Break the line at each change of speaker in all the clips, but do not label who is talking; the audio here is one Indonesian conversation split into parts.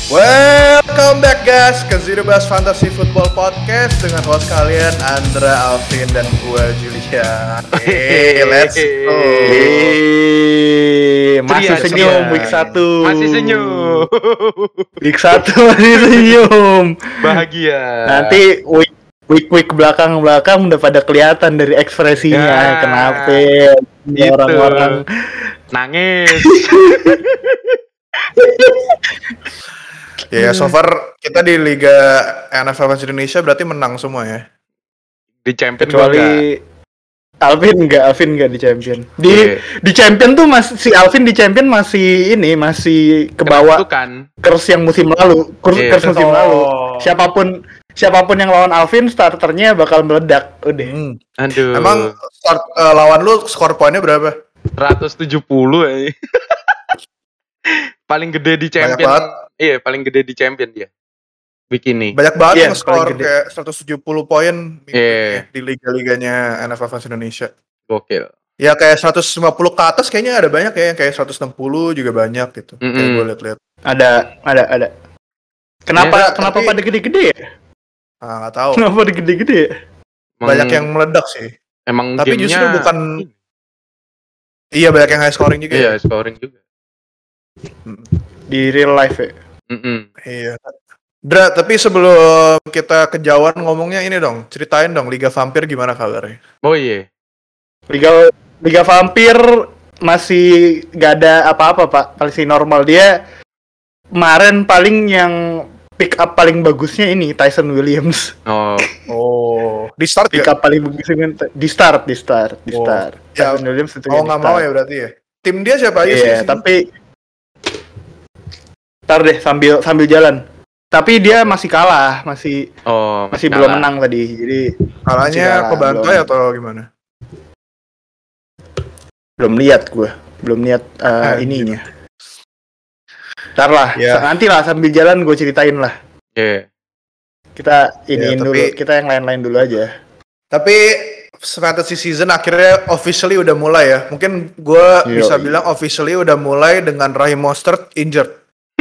Welcome back guys ke Zero Bus Fantasy Football Podcast dengan host kalian Andra, Alvin, dan gue Julian. Let's go.
Masih senyum week 1.
Masih senyum.
Week 1 masih senyum.
Bahagia.
Nanti week belakang udah pada kelihatan dari ekspresinya.
Ya,
kenapa
gitu.
Orang-orang
nangis.
Ya, so far kita di Liga NFL Fans Indonesia berarti menang semua ya.
Di champion
kecuali Alvin enggak di champion. Di champion tuh si Alvin di champion masih ke bawah curse yang musim lalu. Curse musim lalu. Siapapun yang lawan Alvin starternya bakal meledak. Udah.
Aduh.
Emang lawan lu skor poinnya berapa?
170 ya. Paling gede di champion. Iya, paling gede di champion dia. Week ini.
Banyak banget yang skor kayak 170 poin di liga-liganya NFL Fans Indonesia.
Gokil.
Ya kayak 150 ke atas kayaknya ada banyak ya, kayak 160 juga banyak gitu. Kayak gue lihat-lihat.
Ada. Kenapa pada gede-gede ya?
Nggak tahu.
Kenapa pada gede-gede ya?
Banyak yang meledak sih.
Emang
tapi
gamenya
justru bukan. Iya, banyak yang high scoring juga.
Iya, scoring juga.
Di real life ya.
Iya. Dra, tapi sebelum kita kejauhan ngomongnya ini dong, ceritain dong Liga Vampir gimana kabarnya?
Oh iya.
Liga Vampir masih gak ada apa-apa Pak, masih normal. Dia kemarin paling yang pick up paling bagusnya ini Tyson Williams.
Oh. Di start
pick up paling bagusnya di start.
Ya,
Tyson Williams itu
nggak mau ya berarti ya. Tim dia siapa aja sih?
Iya, tapi ntar deh sambil jalan. Tapi dia masih kalah, masih belum menang tadi. Jadi
kalahnya kebantai atau gimana?
Belum lihat ininya. Ntar lah, nanti lah sambil jalan gue ceritain lah.
Iya.
Kita dulu, kita yang lain-lain dulu aja.
Tapi fantasy season akhirnya officially udah mulai ya. Mungkin gue bisa bilang officially udah mulai dengan Raheem Mostert injured.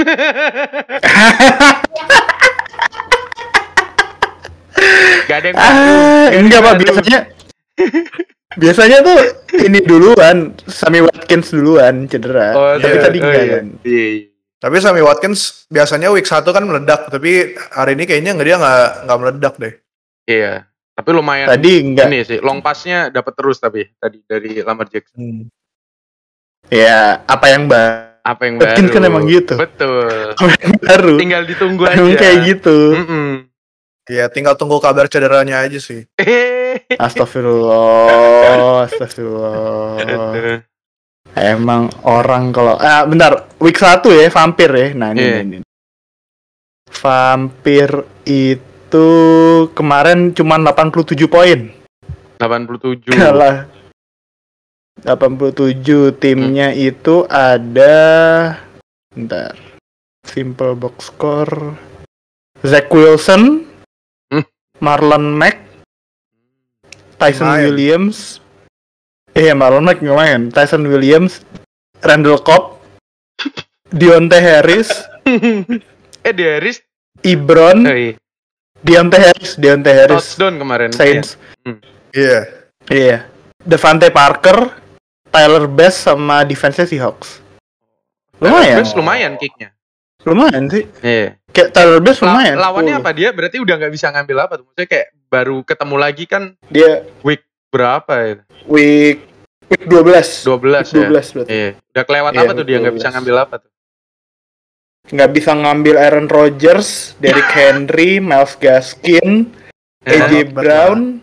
Gak ada yang
enggak Pak, biasanya tuh ini duluan, Sammy Watkins duluan cedera. Tapi tadi enggak kan.
Tapi Sammy Watkins biasanya week 1 kan meledak, tapi hari ini kayaknya dia nggak meledak deh.
Iya, tapi lumayan.
Tadi enggak.
Ini sih, long pass-nya dapat terus tapi tadi dari Lamar Jackson.
Ya, apa yang baru?
Watkins
kan emang gitu.
Betul.
Apa yang baru?
Tinggal ditunggu aja.
Emang kayak gitu.
Ya, tinggal tunggu kabar cederanya aja sih.
Astagfirullah. Emang orang kalau bentar, week 1 ya, Vampir ya. Nah, ini. Vampir itu kemarin cuma 87 poin.
87.
Kalah. 87 timnya itu ada bentar. Simple box score. Zach Wilson, Marlon Mack, Tyson Williams. Marlon Mack lumayan. Tyson Williams, Randall Cobb, Deontay Harris,
Harris,
Ebron, Deontay Harris.
Touchdown kemarin.
Saints.
Iya.
Devante Parker, Tyler Bass sama defense-nya Seahawks.
Lumayan kicknya.
Lumayan sih.
Iya.
Kayak Tyler Bass lumayan.
Lawannya apa dia? Berarti udah nggak bisa ngambil apa tuh? Maksudnya kayak baru ketemu lagi kan?
Dia
week berapa ya?
Week 12
ya?
Berarti.
Iya. Udah kelewat apa tuh dia? Nggak bisa ngambil apa tuh?
Nggak bisa ngambil Aaron Rodgers, Derrick Henry, Myles Gaskin, AJ Brown,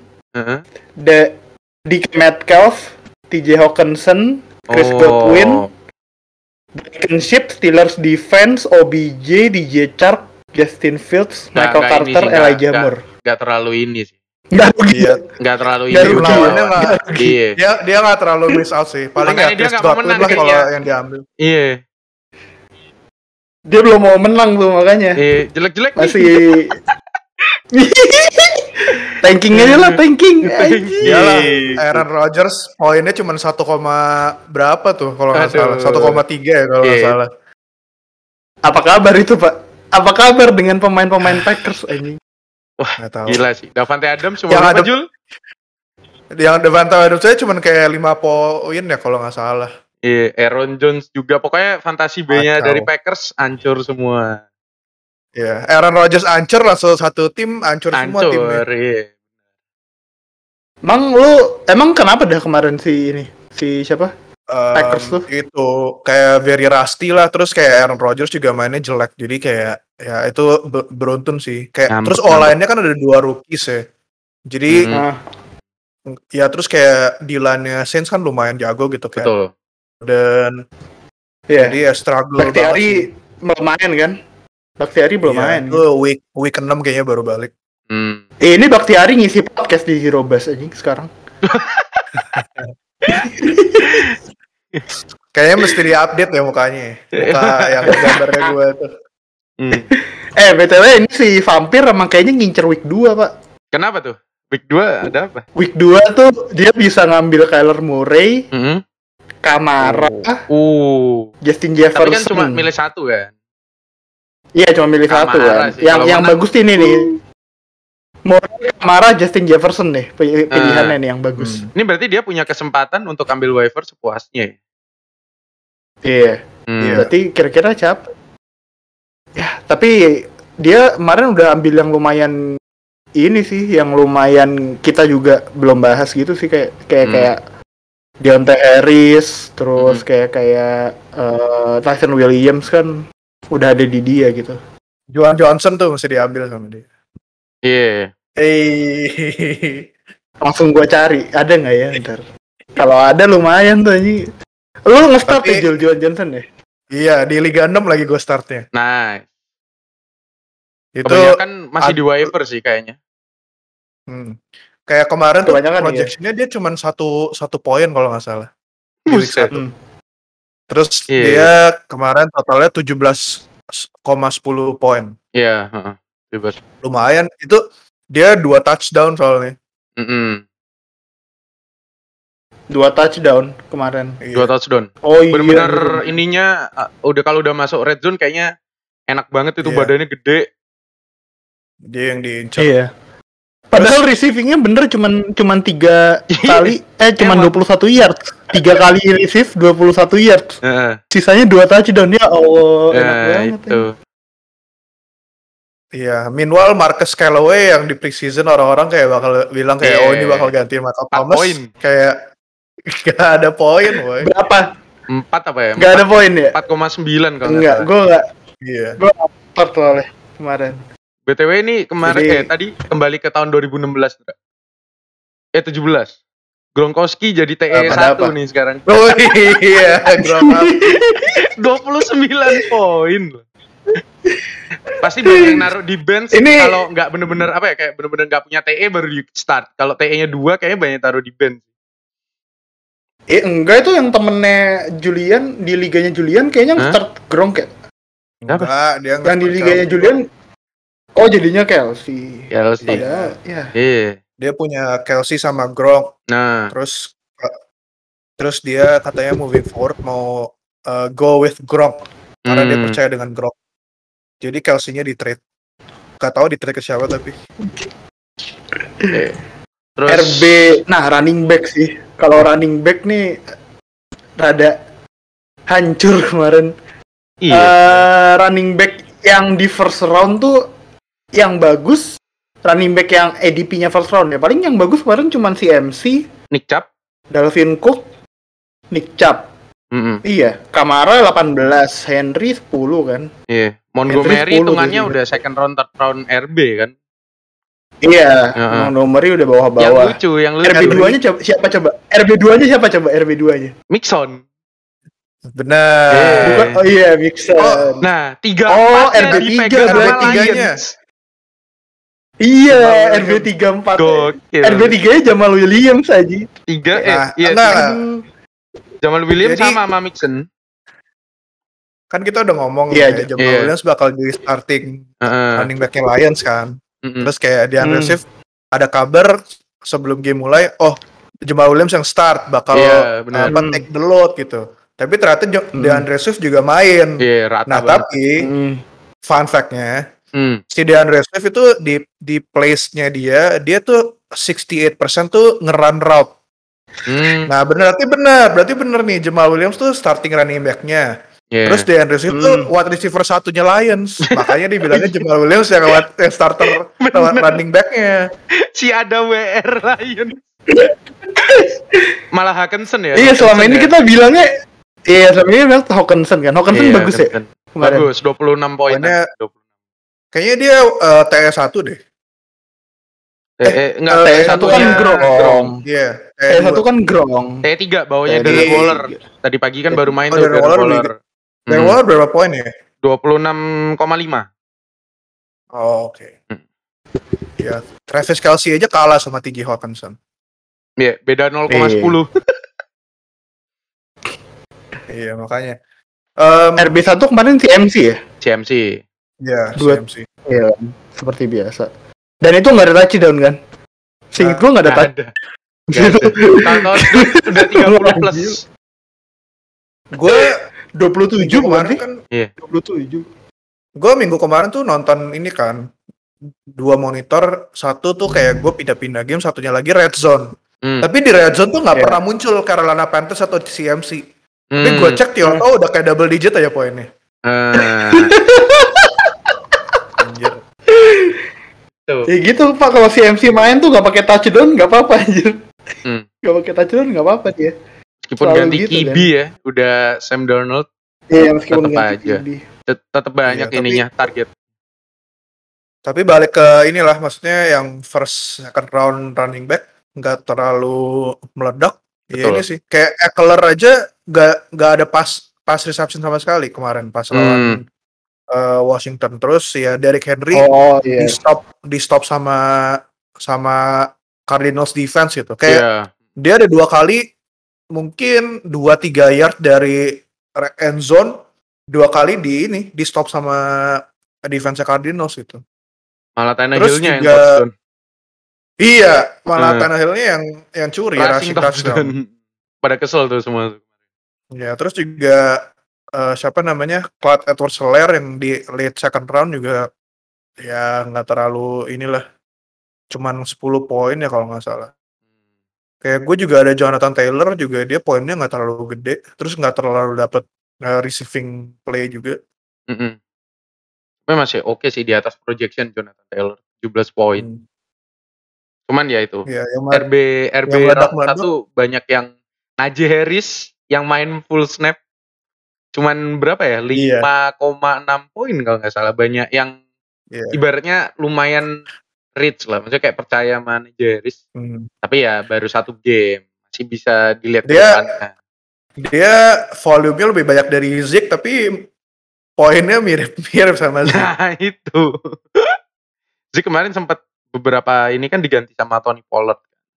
DK Metcalf, TJ Hawkinson, Chris Godwin, Blankenship, Steelers defense, OBJ, DJ Chark, Justin Fields, Michael Carter, Elijah Moore.
Gak terlalu ini sih.
Nggak
terlalu
ini. Dia nggak terlalu miss out sih. Paling nggak Chris Godwin lah kalau yang diambil.
Iya.
Dia belum mau menang tuh makanya.
Iya, jelek-jelek
masih. Tanking aja lah, tanking.
Iyalah, Aaron Rodgers poinnya cuma 1, berapa tuh kalau nggak salah, 1,3 ya kalau nggak salah.
Apa kabar itu Pak? Apa kabar dengan pemain-pemain Packers anjing?
Wah, gila sih. Davante Adams cuma
yang
berapa, Jul?
Yang Davante Adams saya cuma kayak 5 poin ya kalau nggak salah.
Iya, Aaron Jones juga. Pokoknya fantasi B-nya dari Packers hancur semua.
Iya, Aaron Rodgers hancur, langsung satu tim hancur semua timnya.
Iya.
Emang kenapa dah kemarin si siapa? Packers tuh
itu kayak very rusty lah, terus kayak Aaron Rodgers juga mainnya jelek, jadi kayak ya itu beruntun sih kayak terus line-nya kan ada 2 rookies ya, jadi ya terus kayak di line-nya Saints kan lumayan jago gitu kayak.
Betul.
Dan jadi ya struggle
Bakhtiari belum main kan? Bakhtiari belum main.
Itu week 6 kayaknya baru balik.
Ini Bakhtiari ngisi podcast di Hero Bus anjing sekarang.
Kayaknya mesti di-update ya mukanya. Muka yang gambarnya gue tuh.
BTW ini si Vampir emang kayaknya ngincer week 2, Pak.
Kenapa tuh? Week 2 ada apa?
Week 2 tuh dia bisa ngambil Kyler Murray, Kamara, Justin Jefferson.
Tapi kan cuma milih satu kan?
Iya, cuma milih satu kan. Yang bagus ini nih. Murray, Kamara, Justin Jefferson nih pilihannya nih yang bagus.
Ini berarti dia punya kesempatan untuk ambil waiver sepuasnya ya?
Iya. Berarti kira-kira siapa? Ya, tapi dia kemarin udah ambil yang lumayan ini sih, yang lumayan kita juga belum bahas gitu sih, kayak Deontay Harris, terus kayak Tyson Williams kan udah ada di dia gitu.
Juan Johnson tuh mesti diambil sama dia.
Iya.
Langsung gua cari, ada nggak ya ntar? Kalau ada lumayan tuh ini. Lu nge-start ya Juan Johnson ya?
Iya, di Liga 6 lagi gue startnya.
Nah,
itu
kebanyakan masih di waiver sih kayaknya.
Kayak kemarin tuh projection-nya dia cuma satu poin kalau nggak salah. Di week 1. Terus dia kemarin totalnya 17,10 poin.
Iya,
lumayan. Itu dia 2 touchdown soalnya.
2 touchdown kemarin.
2 touchdown.
Oh iya.
Benar-benar ininya kalau udah masuk red zone kayaknya enak banget itu, badannya gede.
Dia yang diincar.
Iya. Padahal receivingnya bener cuman 3 kali, cuman 21 yards. 3 kali receive 21 yards. Sisanya 2 touchdown, ya Allah, enak banget
itu.
Iya, meanwhile Marcus Callaway yang di preseason orang-orang kayak bakal bilang kayak ini bakal gantiin Michael Thomas. Kayak gak ada poin, boy.
Berapa?
4 apa ya?
Gak ada poin ya?
4,9 kalau
enggak, gue enggak.
Iya.
Gue upload soalnya kemarin.
BTW ini kemarin tadi kembali ke tahun 2016 enggak? 17. Gronkowski jadi TE 1 nih sekarang.
Oh iya, Gronkowski
29 poin loh. Pasti banyak yang naruh di bench kalau nggak bener-bener kayak bener-bener nggak punya TE baru di start. Kalau TE-nya 2 kayaknya banyak taruh di bench.
Enggak, itu yang temennya Julian di liganya Julian kayaknya start Gronk ya.
Enggak, dia
yang di liganya Julian. Oh, jadinya Kelsey.
Iya.
Dia punya Kelsey sama Gronk.
Nah,
terus dia katanya moving forward mau go with Gronk karena dia percaya dengan Gronk. Jadi Kelsey-nya di-trade. Gak tahu di-trade ke siapa tapi.
Terus RB, running back sih. Kalau running back nih rada hancur kemarin. Iya. Running back yang di first round tuh yang bagus, running back yang ADP-nya first round ya. Paling yang bagus kemarin cuma si MC,
Nick Chubb,
Dalvin Cook, Nick Chubb. Iya, Kamara 18, Henry 10 kan.
Iya, Montgomery hitungannya udah second round, third round RB kan.
Iya, Montgomery udah bawah-bawah.
Yang lucu.
RB2-nya siapa coba? RB2-nya siapa coba? RB2-nya?
Mixon.
Benar.
Bukan, Mixon.
Nah, 3-4
RB3
RB3-nya.
Iya, RB34. RB3-nya Jamal Williams aja.
3 Jamal Williams sama Mixon.
Kan kita udah ngomong Jamal Williams bakal jadi starting running back-nya Lions kan. Terus kayak di Unreceived ada kabar sebelum game mulai, Jamal Williams yang start bakal take the load gitu. Tapi ternyata di Unreceived juga main.
Rata
tapi fun fact-nya, si DeAndre Swift itu di place-nya dia tuh 68% tuh nge-run route. Nah, berarti bener nih Jamal Williams tuh starting running back-nya. Yeah. Terus DeAndre Swift tuh wide receiver satunya Lions. Makanya dibilangnya Jamal Williams yang starter running back-nya.
Si ada WR Lions. Malah Hawkinson ya.
Iya, selama ini kita bilangnya selama ini bilang Hawkinson kan. Hawkinson bagus ya.
Bagus, 26 poin.
Kayaknya dia TS1 deh.
Enggak, TS1
kan Grong.
Iya.
TS1 kan Grong.
T3 bawahnya Darren Waller. Tadi pagi kan baru main tuh Darren Waller.
Darren Waller berapa poin ya?
26,5.
Oh, oke. Ya, Travis Kelce aja kalah sama TJ Hawkinson.
Iya, beda 0,10.
Iya, makanya.
RB1 kemarin CMC ya?
CMC.
Iya, CMC.
Iya, seperti biasa. Dan itu nggak ada touchdown kan? Seinget gue nggak ada touchdown.
Tahun udah 30 plus.
Gue 27 kemarin kan.
Iya.
27.
Gue minggu kemarin tuh nonton ini kan. 2 monitor, satu tuh kayak gue pindah-pindah game, satunya lagi Red Zone. Tapi di Red Zone tuh nggak pernah muncul Carolina Panthers atau CMC. Tapi gue cek Tioto udah kayak double digit aja poinnya. Anjir.
Ya gitu Pak, kalau CMC main tuh nggak pakai touchdown nggak apa-apa anjir. Nggak pakai touchdown nggak apa-apa dia.
Meskipun ganti gitu, QB kan? Ya, udah Sam Darnold.
Iya, meskipun
tetep ganti aja. Tetap banyak ininya target.
Tapi balik ke inilah, maksudnya yang first second round running back nggak terlalu meledak. Iya ini sih. Kayak Eckler aja nggak ada pass reception sama sekali kemarin pas lawan Washington. Terus ya Derrick Henry di stop sama Cardinals defense gitu. Kayak dia ada 2 kali mungkin 2-3 yard dari end zone, 2 kali di stop sama defense Cardinals gitu.
Malah Tannehill-nya yang touchdown.
Iya, malah Tannehill-nya yang curi rushing touchdown.
Pada kesel tuh semua.
Ya, terus juga siapa namanya? Clyde Edwards-Helaire yang di late second round juga ya nggak terlalu inilah. Cuman 10 poin ya kalau nggak salah. Kayak gue juga ada Jonathan Taylor juga, dia poinnya nggak terlalu gede, terus nggak terlalu dapet receiving play juga.
Tapi masih oke sih di atas projection Jonathan Taylor, 17 poin. Cuman ya itu, RB round 1 banyak yang Najee Harris yang main full snap. Cuman berapa ya? 5,6 poin kalau nggak salah. Banyak yang ibaratnya lumayan rich lah, maksudnya kayak percaya sama Najee Harris. Tapi ya baru 1 game, masih bisa dilihat ke depannya.
Dia volume-nya lebih banyak dari Zeke, tapi poinnya mirip-mirip sama Zeke.
Nah itu. Zeke kemarin sempat beberapa ini kan diganti sama Tony Pollard.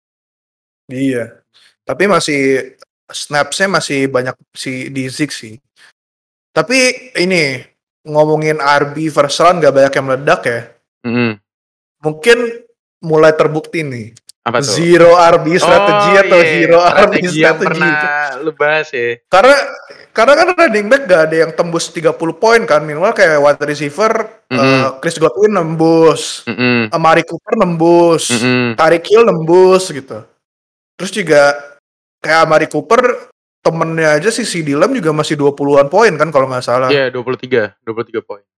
Iya. Tapi masih snaps-nya masih banyak di Zeke sih. Tapi ini ngomongin RB first round gak banyak yang meledak ya. Mungkin mulai terbukti nih.
Apa tuh?
Zero RB strategi atau zero RB strategi
yang pernah lu bahas ya.
Karena kan running back gak ada yang tembus 30 poin kan, minimal kayak wide receiver Chris Godwin nembus, Amari Cooper nembus, Tyreek Hill nembus gitu. Terus juga kayak Amari Cooper temennya aja si CeeDee Lamb juga masih 20-an poin kan kalau nggak salah.
Iya, 23 poin.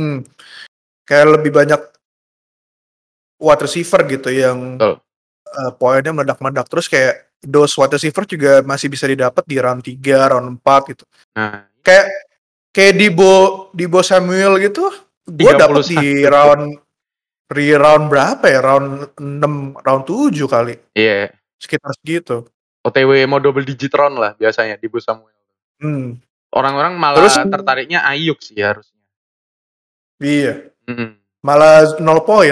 Kayak lebih banyak wide receiver gitu yang poinnya meledak-meledak. Terus kayak those wide receiver juga masih bisa didapat di round 3, round 4 gitu.
Nah,
kayak Deebo Samuel gitu, gue dapet di round berapa ya? Round 6, round 7 kali.
Iya.
Sekitar segitu.
OTW mau double digit round lah biasanya Deebo Samuel. Orang-orang malah tertariknya Ayuk sih harusnya.
Iya. Malah 0 poin.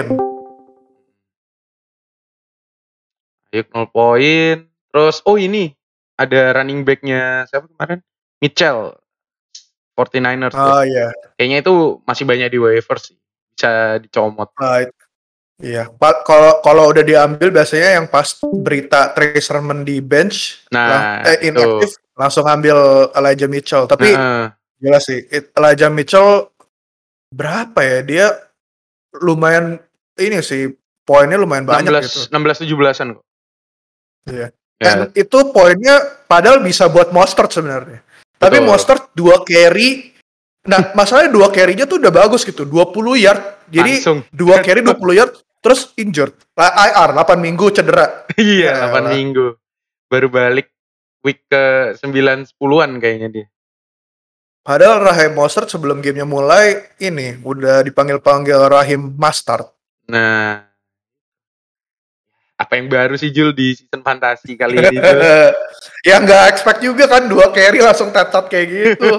Ayuk 0 poin. Terus ini ada running back-nya siapa kemarin? Mitchell 49ers.
Oh iya.
Kayaknya itu masih banyak di waiver sih. Bisa dicomot.
Iya. Kalau udah diambil biasanya yang pas berita Trey Sermon di bench, inactive, langsung ambil Elijah Mitchell. Tapi jelas sih Elijah Mitchell berapa ya? Dia lumayan ini sih, poinnya lumayan banyak
16-17an kok.
Iya. Dan itu poinnya padahal bisa buat Mostert sebenarnya. Tapi Mostert 2 carry. Nah, masalahnya 2 carry-nya tuh udah bagus gitu, 20 yard. Jadi 2 carry 20 yard terus injured. IR 8 minggu cedera.
Iya, 8 minggu. Baru balik week ke 9-10-an kayaknya dia.
Padahal Raheem Mostert sebelum gamenya mulai ini udah dipanggil-panggil Raheem Mustard.
Nah, apa yang baru sih Jul di season fantasi kali ini?
Ya nggak expect juga kan 2 carry langsung tetot kayak gitu.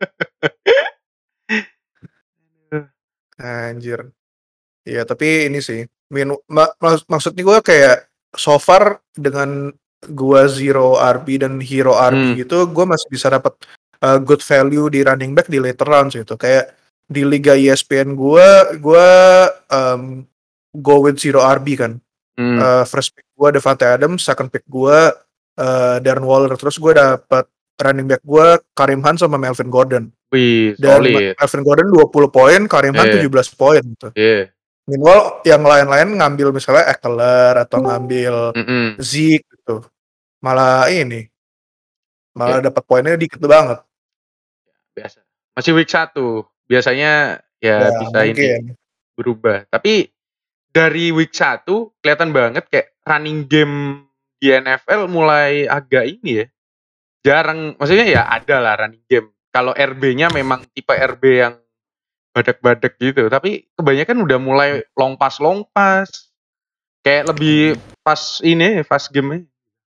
Anjir. Iya tapi ini sih maksudnya gue kayak so far dengan gue zero RB dan hero RB gitu gue masih bisa dapat good value di running back di later rounds gitu. Kayak di liga ESPN gue go with zero RB kan. First pick gue Devante Adams, second pick gue Darren Waller, terus gue dapet running back gue Kareem Hunt sama Melvin Gordon.
Wih,
dan Melvin Gordon 20 poin, Kareem Hunt 17 poin gitu. Meanwhile yang lain-lain ngambil misalnya Eckler atau ngambil Zeke gitu. Malah dapat poinnya dikit banget.
Biasa. Masih week 1. Biasanya ya bisa mungkin. Ini berubah. Tapi dari week 1 kelihatan banget kayak running game di NFL mulai agak ini ya. Jarang, maksudnya ya ada lah running game. Kalau RB-nya memang tipe RB yang badak-badak gitu. Tapi kebanyakan udah mulai long pass. Kayak lebih fast game-nya.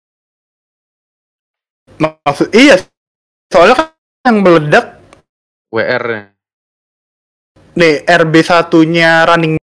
Maksud iya. Soalnya kan yang meledak
WR-nya.
Nih, RB1-nya running.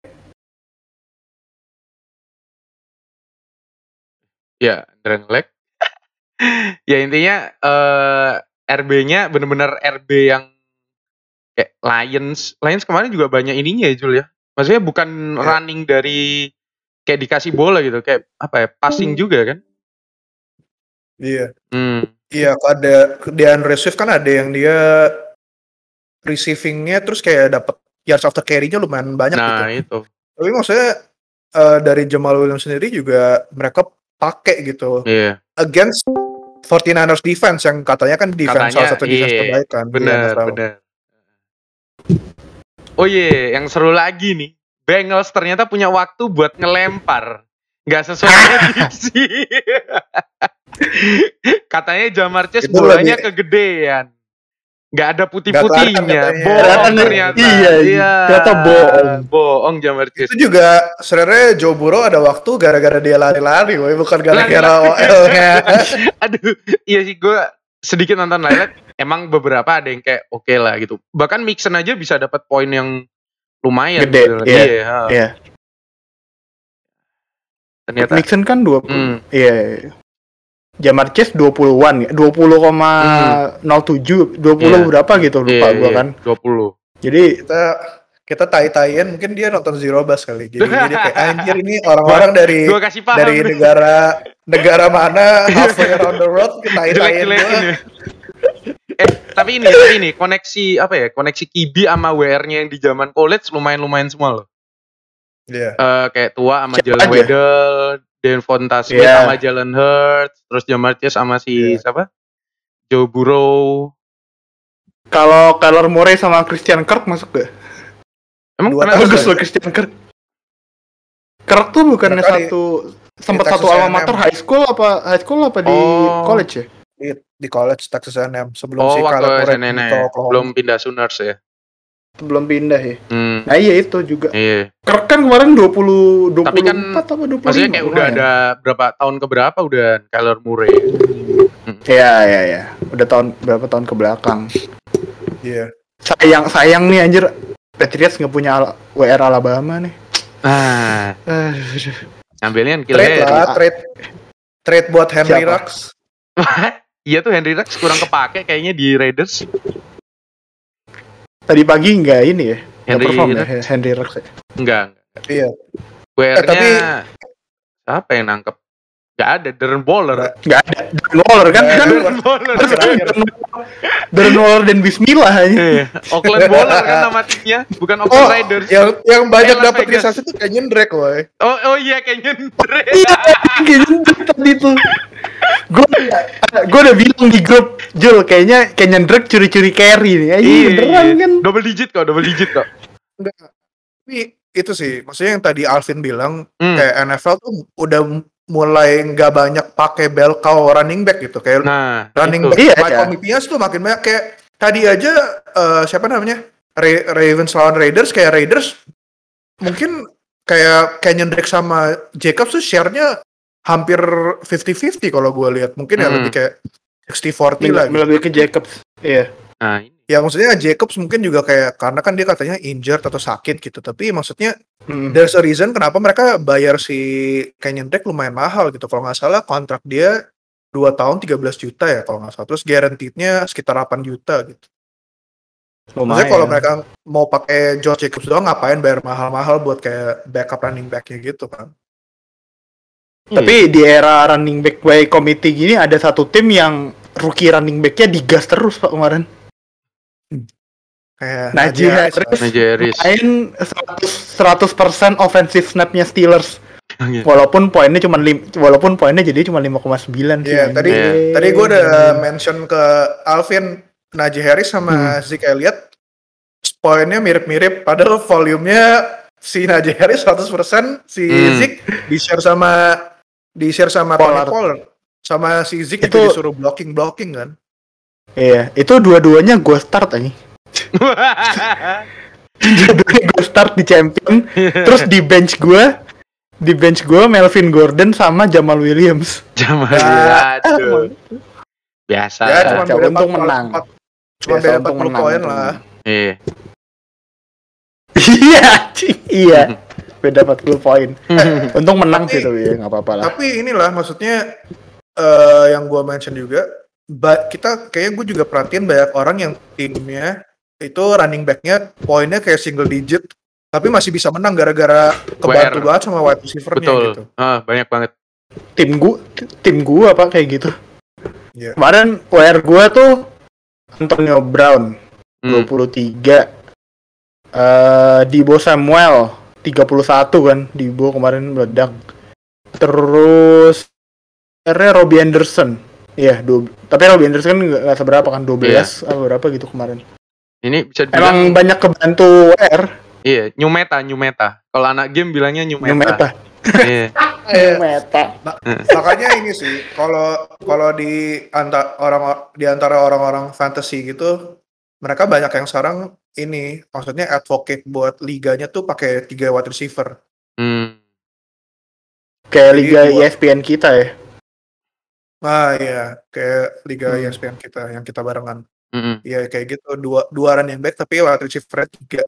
Ya, Drenglek. Ya intinya RB-nya bener-bener RB yang kayak Lions kemarin juga banyak ininya ya Jul ya. Maksudnya bukan running dari kayak dikasih bola gitu, kayak apa ya, passing juga kan?
Iya. Iya, ada DeAndre Swift kan ada yang dia receiving-nya terus kayak dapat yards after carry-nya lumayan banyak gitu.
Nah, itu.
Tapi maksudnya dari Jamal Williams sendiri juga mereka pakai gitu. Against 49ers defense yang katanya kan salah satu defense terbaik kan.
Bener. Oh yang seru lagi nih. Bengals ternyata punya waktu buat ngelempar. Nggak sesuai prediksi. Katanya Ja'Marr Chase bolanya kegedean. Nggak ada putih-putihnya. Bohong ternyata.
Iya. Ternyata
bohong Ja'Marr Chase.
Itu juga sebenarnya Joe Burrow ada waktu gara-gara dia lari-lari, bukan gara-gara OL-nya.
Aduh, iya sih gue sedikit nonton highlight. Emang beberapa ada yang kayak oke lah gitu. Bahkan Mixon aja bisa dapat poin yang lumayan.
Gede. Iya.
Ternyata
Mixon kan 20. Iya. Ja'Marr Chase 20-an ya. 20,07 20 berapa gitu lupa gua kan.
20.
Jadi
kita tai-taian mungkin dia nonton Zero Bus kali. Jadi kayak anjir ini orang-orang dari negara mana halfway around the world kita tai-taian gua.
Tapi ini koneksi apa ya? Koneksi Kibi sama WR-nya yang di zaman college lumayan semua loh.
Iya.
Kayak tua sama Jalen Waddle, Devonta Smith sama Jalen Hurts, terus Ja'Marr Chase sama siapa? Joe Burrow.
Kalau Kyler Murray sama Christian Kirk masuk gak?
Emang
bagus loh Christian Kirk. Kirk tuh bukannya sempat satu alma mater high school apa di college ya?
Di college Texas A&M sebelum si Kyler Murray
belum pindah Sooners ya.
Belum pindah ya. Nah iya itu juga.
Iya.
Kirk kan kemarin 24
tapi kan,
apa 25.
Maksudnya kayak udah ada berapa tahun keberapa udah Kyler Murray.
Iya. Udah berapa tahun ke belakang.
Iya.
Sayang nih anjir. Patriots nggak punya WR Alabama nih.
Ngambilnya Kill
Trade buat Henry Ruggs.
Iya tuh Henry Ruggs kurang kepake kayaknya di Raiders.
Tadi pagi enggak ini ya? Henry Ruggs.
Enggak.
Iya.
WR-nya siapa yang nangkep? Gak ada, Darren Waller.
Gak ada, Darren Waller kan? Darren Waller dan Bismillah aja.
Oakland Waller kan nama timnya, bukan Oakland Raiders.
Yang banyak dapat realisasi tuh Kenyon Drake, woy.
Oh iya, Kenyon Drake.
Iya, Kenyon Drake tadi tuh. Gue udah bilang di grup, Jul, kayaknya Kenyon Drake curi-curi carry nih. Iya, beneran kan?
Double digit kok.
Enggak. Tapi itu sih, maksudnya yang tadi Alvin bilang, kayak NFL tuh udah mulai nggak banyak pakai bell cow running back gitu, kayak running back komitinya tuh makin banyak. Kayak tadi aja siapa namanya Ravens lawan Raiders, kayak Raiders mungkin kayak Kenyon Drake sama Jacobs tuh share-nya hampir 50-50 kalau gue lihat, mungkin ya lebih kayak 60-40 lah gitu.
Lebih ke Jacobs, iya.
Nah, ya maksudnya Jacobs mungkin juga kayak karena kan dia katanya injured atau sakit gitu, tapi maksudnya there's a reason kenapa mereka bayar si Kenyon Drake lumayan mahal gitu. Kalau nggak salah kontrak dia 2 tahun 13 juta ya kalau nggak salah, terus guaranteed-nya sekitar 8 juta gitu. Maksudnya kalau mereka mau pakai Josh Jacobs doang, ngapain bayar mahal-mahal buat kayak backup running back-nya gitu kan.
Tapi di era running back by committee gini ada satu tim yang rookie running back-nya digas terus Pak kemarin.
Kayak
Najee Harris main 100% offensive snap-nya Steelers. Walaupun poinnya jadi cuma 5,9 sih.
Iya, tadi gue udah mention ke Alvin, Najee Harris sama Zeke Elliott poinnya mirip-mirip, padahal volumenya si Najee Harris 100%, si Zeke di-share sama Tony Pollard. Sama si Zeke itu disuruh blocking kan.
Iya, itu dua-duanya gue start aja. Gue start di champion, terus di bench gue Melvin Gordon sama Jamal Williams.
Biasa.
Ya, untung menang.
Cuma beda 40 poin lah.
Iya. Beda 40 poin. Untung menang sih tapi ya nggak apa-apa lah.
Tapi inilah maksudnya yang gue mention juga, kayaknya gue juga perhatiin banyak orang yang timnya itu running back-nya poinnya kayak single digit, tapi masih bisa menang gara-gara kebantu banget sama wide receiver-nya gitu.
Banyak banget.
Tim gue apa kayak gitu.
Yeah.
Kemarin WR gue tuh Antonio Brown 23, Deebo Samuel 31 kan, Deebo kemarin meledak. Terus Robbie Anderson. Iya, tapi Robbie Anderson nggak seberapa kan, 12 atau berapa gitu kemarin.
Ini bisa dibilang
emang banyak kebantu WR.
Iya, new meta. Kalau anak game bilangnya new meta.
Iya. New meta.
Makanya ini sih, kalau di antara orang-orang fantasy gitu, mereka banyak yang sekarang ini, maksudnya advocate buat liganya tuh pakai 3 wide receiver.
Kayak liga ESPN kita ya.
Ah iya, kayak liga ESPN kita yang kita barengan. Iya kayak gitu, dua running back tapi wide receiver 3.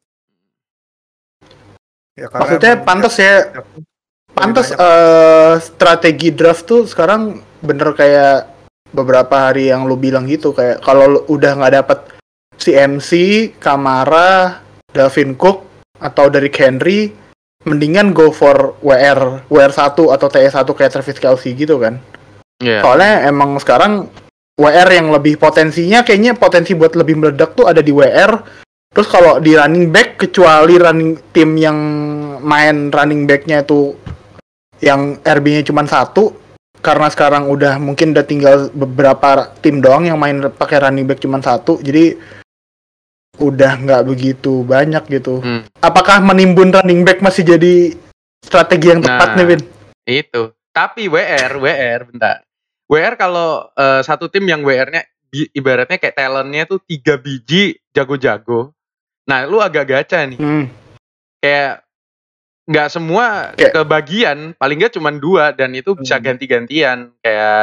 Ya, maksudnya pantas ya. Pantas strategi draft tuh sekarang bener kayak beberapa hari yang lu bilang gitu, kayak kalau udah nggak dapet CMC, Kamara, Dalvin Cook atau Derrick Henry, mendingan go for WR 1 atau TE1 kayak Travis Kelce gitu kan. Soalnya emang sekarang WR yang lebih potensinya, kayaknya potensi buat lebih meledak tuh ada di WR. Terus kalau di running back, kecuali tim yang main running backnya tuh yang RB-nya cuma 1, karena sekarang mungkin udah tinggal beberapa tim doang yang main pakai running back cuma 1, jadi udah nggak begitu banyak gitu. Apakah menimbun running back masih jadi strategi yang tepat nih, Vin?
Itu. Tapi WR bentar. WR kalau satu tim yang WR-nya ibaratnya kayak talentnya tuh 3 biji jago-jago. Nah, lu agak gacha nih. Kayak nggak semua kebagian, paling nggak cuma 2 dan itu bisa ganti-gantian.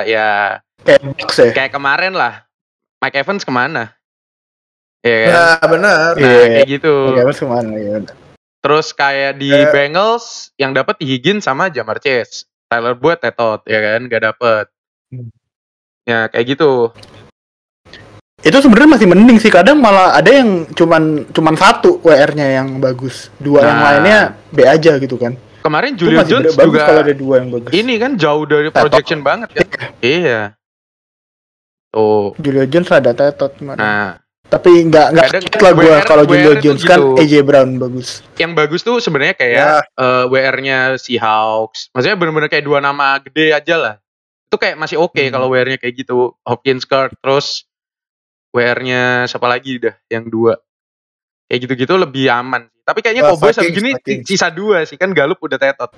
Kayak kemarin lah. Mike Evans kemana?
Ya kan? Benar.
Kayak gitu.
Mike Evans kemana ya?
Terus kayak di Bengals yang dapat Higgins sama Ja'Marr Chase. Tyler Boyd tetot ya kan, nggak dapet. Ya kayak gitu.
Itu sebenarnya masih mending sih, kadang malah ada yang cuman 1 WR-nya yang bagus, 2 yang lainnya B aja gitu kan.
Kemarin Julio Jones juga
kalau ada 2 yang bagus.
Ini kan jauh dari projection banget kan. Iya.
Oh. Julio Jones ada Tetot kemarin.
Nah,
tapi enggak lah gue kalau Julio Jones kan gitu. AJ Brown bagus.
Yang bagus tuh sebenarnya kayak WR-nya Seahawks. Maksudnya benar-benar kayak 2 nama gede aja lah. Itu kayak masih oke kalau WR-nya kayak gitu. Hopkins, Kirk, terus WR-nya siapa lagi dah yang 2. Kayak gitu-gitu lebih aman. Tapi kayaknya Cowboys sampai gini sisa 2 sih kan Gallup udah Tetot.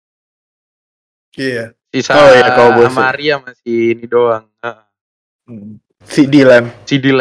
Iya.
Sisa Maria masih ini doang.
CD Lamb.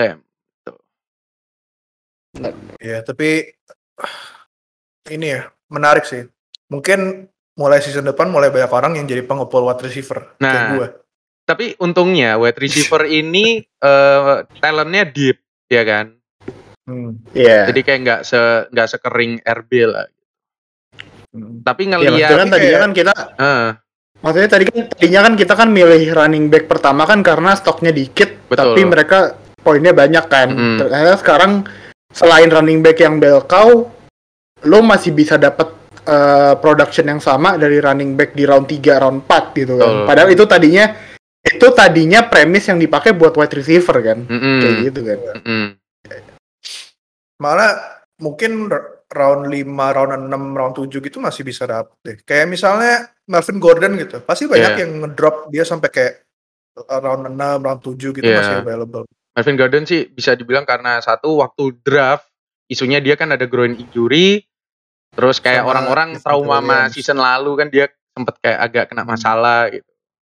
Ya, tapi ini ya menarik sih. Mungkin mulai season depan mulai banyak orang yang jadi pengepul wide receiver.
Nah, kayak gue. Tapi untungnya wide receiver ini talentnya deep, ya kan?
Yeah.
Jadi kayak nggak sekering RB lah. Tapi ngelihat
kan tadinya kan kita maksudnya tadinya kan kita kan milih running back pertama kan karena stoknya dikit. Betul. Tapi mereka poinnya banyak kan. Ternyata sekarang selain running back yang bell cow, lo masih bisa dapat production yang sama dari running back di round 3, round 4 gitu kan. Padahal itu tadinya premis yang dipakai buat wide receiver kan. Kayak gitu kan.
Malah mungkin round 5, round 6, round 7 gitu masih bisa dapet deh. Kayak misalnya Melvin Gordon gitu. Pasti banyak yang ngedrop dia sampai kayak round 6, round 7 gitu masih available.
Melvin Gordon sih bisa dibilang karena satu waktu draft isunya dia kan ada groin injury. Terus kayak sama orang-orang trauma sama season lalu kan dia sempet kayak agak kena masalah gitu.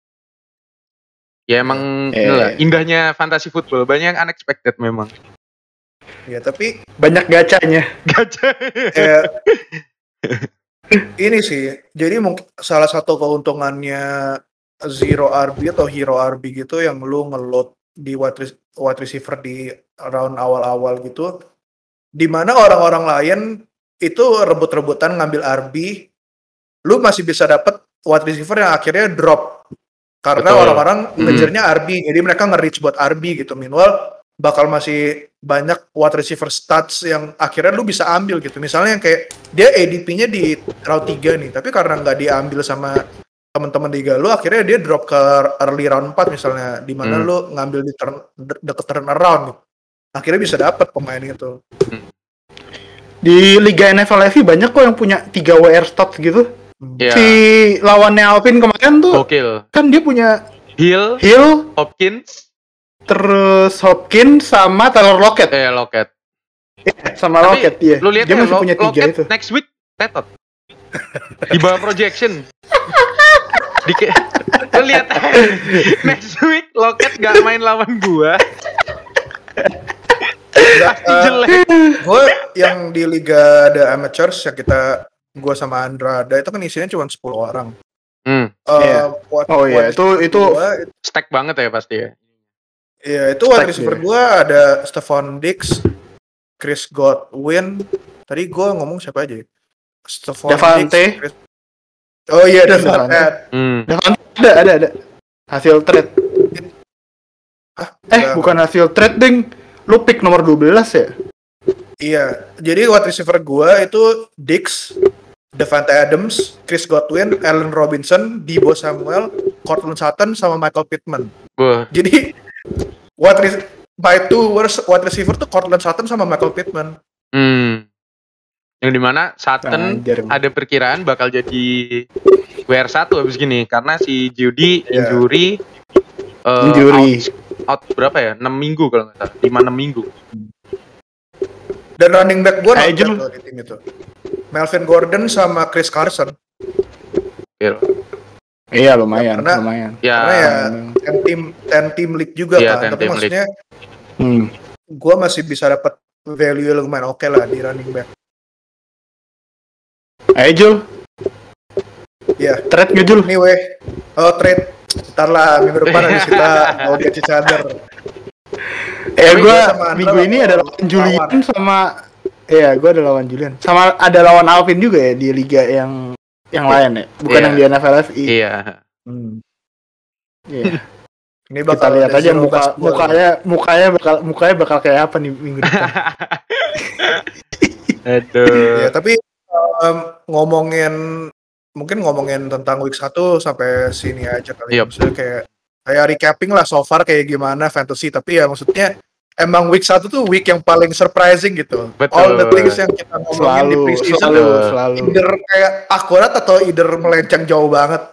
Ya emang inilah indahnya fantasy football, banyak yang unexpected memang.
Ya tapi
banyak gacanya.
Ini sih, jadi mungkin salah satu keuntungannya Zero RB atau Hero RB gitu yang lu ngeload di wide receiver di round awal-awal gitu, dimana orang-orang lain itu rebut-rebutan ngambil RB, lu masih bisa dapet wide receiver yang akhirnya drop karena orang-orang ngejarnya RB, jadi mereka nge-reach buat RB gitu. Meanwhile bakal masih banyak wide receiver stats yang akhirnya lu bisa ambil gitu. Misalnya yang kayak dia ADP-nya di round 3 nih, tapi karena nggak diambil sama teman-teman liga lu, akhirnya dia drop ke early round 4 misalnya, di mana lu ngambil di deket turnaround gitu. Akhirnya bisa dapat pemain itu.
Di Liga NFL FI banyak kok yang punya 3 WR stats gitu. Si lawannya Alvin kemarin tuh kan dia punya
Hill, Hopkins,
terus Hopkins sama Taylor Lockett.
Lockett.
Sama Lockett ya.
Lu lihat
dia masih punya 3
Lockett
itu.
Next week Tetot. Di bawah projection. Lu lihat next week Lockett gak main lawan gua.
Jelek. Gue yang di Liga The Amateurs yang gue sama Andrada itu kan isinya cuma 10 orang.
Itu
stack banget ya pasti ya.
Iya, itu wide receiver gue ada Stephon Diggs, Chris Godwin. Tadi gue ngomong siapa aja? Stephon
Davante.
Diggs. Oh iya, Davante.
Davante ada. Hasil trade. Bukan hasil trade, ding. Lu pick nomor 12 ya?
Iya, jadi wide receiver gue itu Diggs, Davante Adams, Chris Godwin, Allen Robinson, Deebo Samuel, Courtland Sutton, sama Michael Pittman. Jadi by two worst wide receiver tuh Courtland Sutton sama Michael Pittman.
Yang dimana Sutton ada perkiraan bakal jadi WR1 abis gini karena si Judy injury. Out berapa ya? 6 minggu kalau nggak salah. 5-6 minggu.
Dan running back gue nonton di tim itu. Melvin Gordon sama Chris Carson.
Iya lumayan.
Karena ya 10 team league juga kan. Tapi maksudnya gue masih bisa dapat value lumayan oke lah di running back.
Jul.
Ya.
Trade nggak Jul?
Anyway. Trade. Ntar lah minggu depan habis kita mau get each other.
Gue minggu ini ada lawan Julian sama gue ada lawan Julian sama ada lawan Alvin juga ya di liga yang lain ya, bukan yang di NFL FI.
Iya.
Ini bakal
kita lihat aja mukanya bakal kayak apa nih minggu depan.
Aduh.
Ya, tapi ngomongin mungkin ngomongin tentang week 1 sampai sini aja kali. Maksudnya kayak recapping lah so far kayak gimana fantasy, tapi ya maksudnya emang week 1 tuh week yang paling surprising gitu.
Betul.
All the things yang kita ngomongin di preseason selalu either kayak akurat atau either melenceng jauh banget.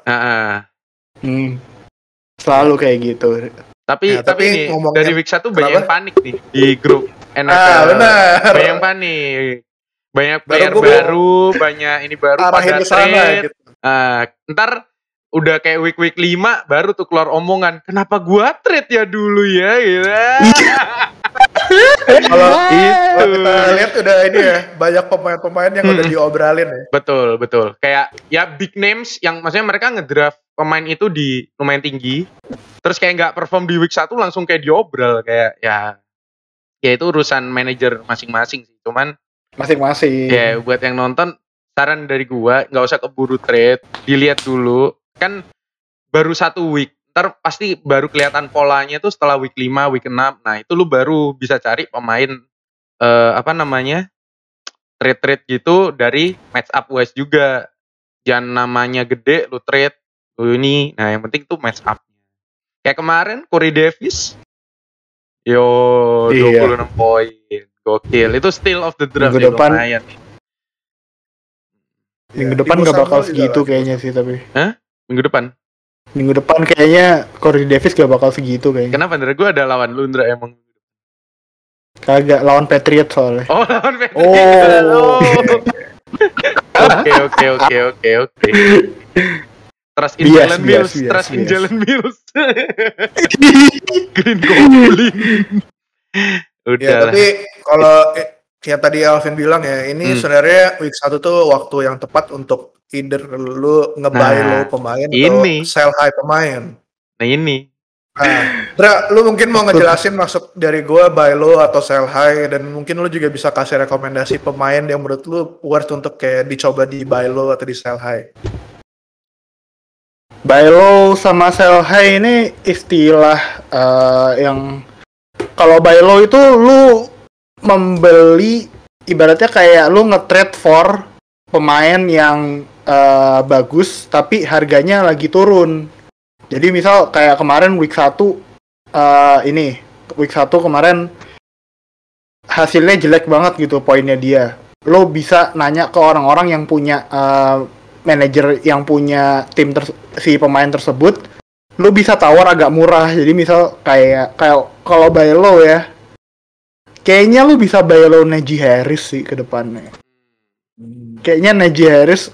Selalu kayak gitu.
Tapi ini dari week 1 banyak yang panik nih di grup NFL.
Benar.
Banyak yang panik. Banyak player baru, banyak ini baru pada trade. Gitu. Ntar udah kayak week 5 baru tuh keluar omongan, kenapa gua trade ya dulu ya gitu.
Kalau kita lihat udah ini ya, banyak pemain-pemain yang udah diobrolin ya.
Betul. Kayak ya big names yang maksudnya mereka ngedraft pemain itu di lumayan tinggi. Terus kayak nggak perform di week 1 langsung kayak diobrol, kayak ya itu urusan manajer masing-masing sih. Cuman
masing-masing.
Ya buat yang nonton, saran dari gua nggak usah keburu trade, dilihat dulu. Kan baru 1 week, ntar pasti baru kelihatan polanya tuh setelah week 5, week 6. Nah itu lu baru bisa cari pemain trade gitu dari match up wise juga. Jangan namanya gede lu trade lu ini. Nah yang penting tuh match up. Kayak kemarin Corey Davis 26 poin, gokil. Itu steal of the draft ya, lumayan.
Minggu depan gak bakal segitu kayaknya sih tapi.
Minggu depan
kayaknya Corey Davis gak bakal segitu kayaknya.
Kenapa? Ndra? Gue ada lawan lu, Ndra, emang.
Kagak, lawan Patriot soalnya.
Oh, lawan Patriot. Oke. Trust in Jalen Mills. Green Goblin. Udah.
Ya, tapi kalau kayak tadi Alvin bilang ya, ini sebenarnya week 1 tuh waktu yang tepat untuk either lu nge-buy low pemain atau sell high pemain.
Nah ini.
Dra, lu mungkin mau ngejelasin maksud dari gua buy low atau sell high, dan mungkin lu juga bisa kasih rekomendasi pemain yang menurut lu worth untuk kayak dicoba di buy low atau di sell high.
Buy low sama sell high ini istilah yang kalau buy low itu lu membeli ibaratnya kayak lu nge-trade for pemain yang bagus tapi harganya lagi turun. Jadi misal kayak kemarin week 1 week 1 kemarin hasilnya jelek banget gitu poinnya dia. Lo bisa nanya ke orang-orang yang punya manajer yang punya tim si pemain tersebut, lo bisa tawar agak murah. Jadi misal kayak kalau buy low ya, kayaknya lo bisa buy low Najee Harris sih ke depannya. Kayaknya Najee Harris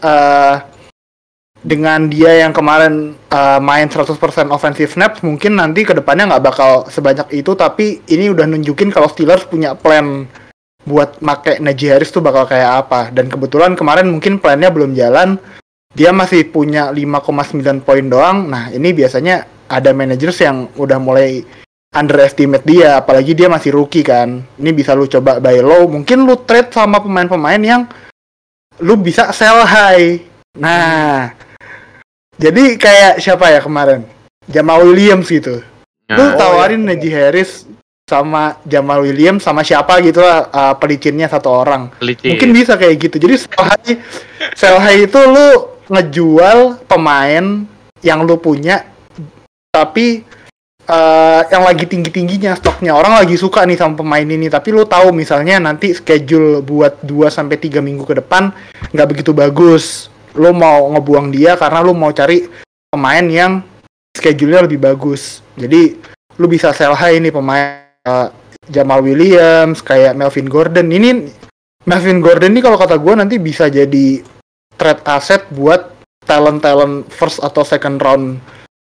dengan dia yang kemarin main 100% offensive snaps, mungkin nanti ke depannya nggak bakal sebanyak itu, tapi ini udah nunjukin kalau Steelers punya plan buat make Najee Harris tuh bakal kayak apa. Dan kebetulan kemarin mungkin plannya belum jalan, dia masih punya 5,9 poin doang. Nah ini biasanya ada managers yang udah mulai underestimate dia, apalagi dia masih rookie kan. Ini bisa lu coba buy low, mungkin lu trade sama pemain-pemain yang lu bisa sell high. Nah, jadi kayak siapa ya kemarin? Jamal Williams gitu. Lu tawarin Najee Harris sama Jamal Williams sama siapa gitu lah, pelicinnya satu orang. Mungkin bisa kayak gitu. Jadi sell high itu lu ngejual pemain yang lu punya tapi yang lagi tinggi-tingginya stoknya. Orang lagi suka nih sama pemain ini, tapi lu tahu misalnya nanti schedule buat 2-3 minggu ke depan nggak begitu bagus. Lu mau ngebuang dia karena lu mau cari pemain yang schedule-nya lebih bagus. Jadi lu bisa sell high nih pemain Jamal Williams, kayak Melvin Gordon. Ini Melvin Gordon ini kalau kata gue nanti bisa jadi trade asset buat talent first atau second round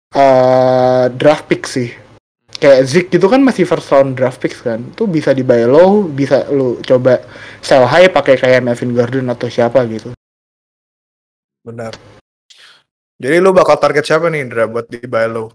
draft pick sih. Kayak Zeke gitu kan masih first round draft picks kan. Itu bisa di buy low, bisa lu coba sell high pakai kayak Melvin Gordon atau siapa gitu.
Benar. Jadi lu bakal target siapa nih Indra buat di buy low?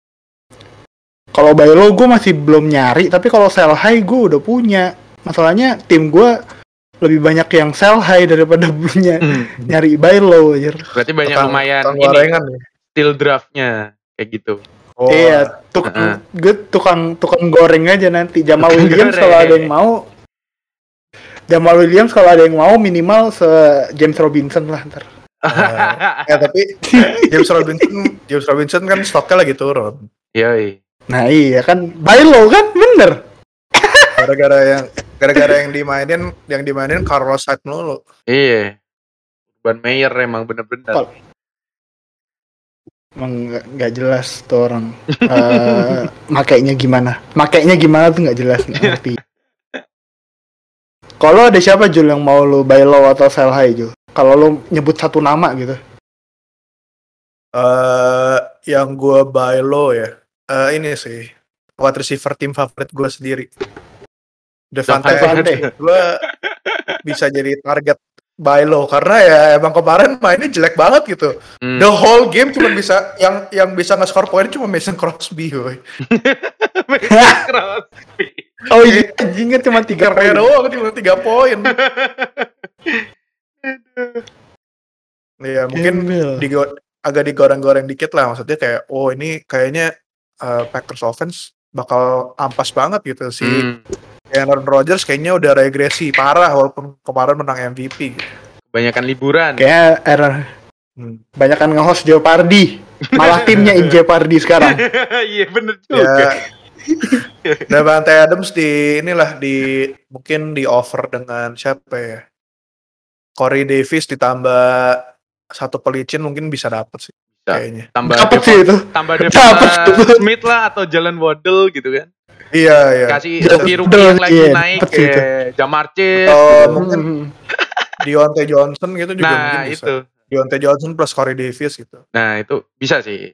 Kalau buy low gue masih belum nyari, tapi kalau sell high gue udah punya. Masalahnya tim gue lebih banyak yang sell high daripada punya nyari buy low aja.
Berarti banyak lumayan ini steal draftnya kayak gitu.
Oh. Iya, tukang goreng aja nanti. Jamal Williams kalau ada yang mau. Jamal Williams kalau ada yang mau minimal James Robinson lah ntar.
Tapi James Robinson kan stoknya lagi turun.
Iya.
Nah iya kan, buy low kan, bener.
Gara-gara yang dimainin Carlos Hyde mulu.
Iya. Urban Meyer emang bener-bener.
Emang nggak jelas tuh orang. Makainya gimana tuh nggak jelas, ngerti. Kalau ada siapa Jul yang mau lu buy low atau sell high Jul? Kalau lu nyebut satu nama gitu.
Yang gue buy low ya. Ini sih wide receiver tim favorit gue sendiri. Devante Adams gue bisa jadi target buy low karena ya emang kemarin mainnya jelek banget gitu. The whole game cuma bisa yang bisa nge-score poin cuma Mason Crosby, woy.
Mason Crosby.
Oh iya, anjingnya cuma 3 poin
doang, cuma 3 poin. Iya, mungkin agak digoreng-goreng dikit lah, maksudnya kayak ini kayaknya Packers offense bakal ampas banget gitu sih. Aaron Rodgers kayaknya udah regresi parah walaupun kemarin menang MVP gitu.
Kebanyakan liburan.
Kayak banyakan nge-host Jeopardy. Malah timnya in Jeopardy sekarang.
Iya bener juga.
Devante Adams mungkin di offer dengan siapa ya? Corey Davis ditambah satu pelicin mungkin bisa dapet sih. Kayaknya.
Tambah Smith lah atau Jalen Waddle gitu kan.
Iya.
Kasih rookie yang lagi naik kayak Ja'Marr Chase.
Mungkin Diontae Johnson gitu juga mungkin bisa. Itu. Diontae Johnson plus Corey Davis gitu.
Nah, itu bisa sih.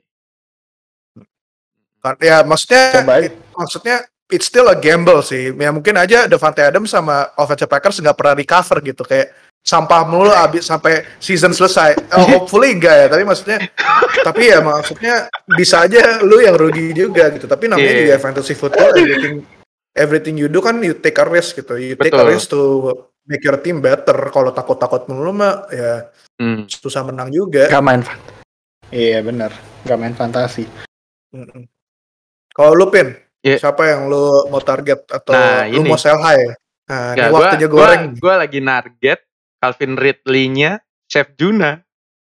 Ya maksudnya it's still a gamble sih. Ya mungkin aja Devante Adams sama offensive Packers nggak pernah recover gitu, kayak sampah mulu abis sampai season selesai. Hopefully enggak ya, tapi maksudnya bisa aja lu yang rugi juga gitu. Tapi namanya juga fantasy football, everything you do kan you take a risk gitu. You take a risk to make your team better. Kalau takut-takut mulu mah ya susah menang juga.
Gak main iya benar, gak main fantasi.
Kalau lu Pin, siapa yang lu mau target atau lu mau sell high? Nah, ini waktunya goreng.
Gue lagi target Calvin Ridley-nya Chef Juna.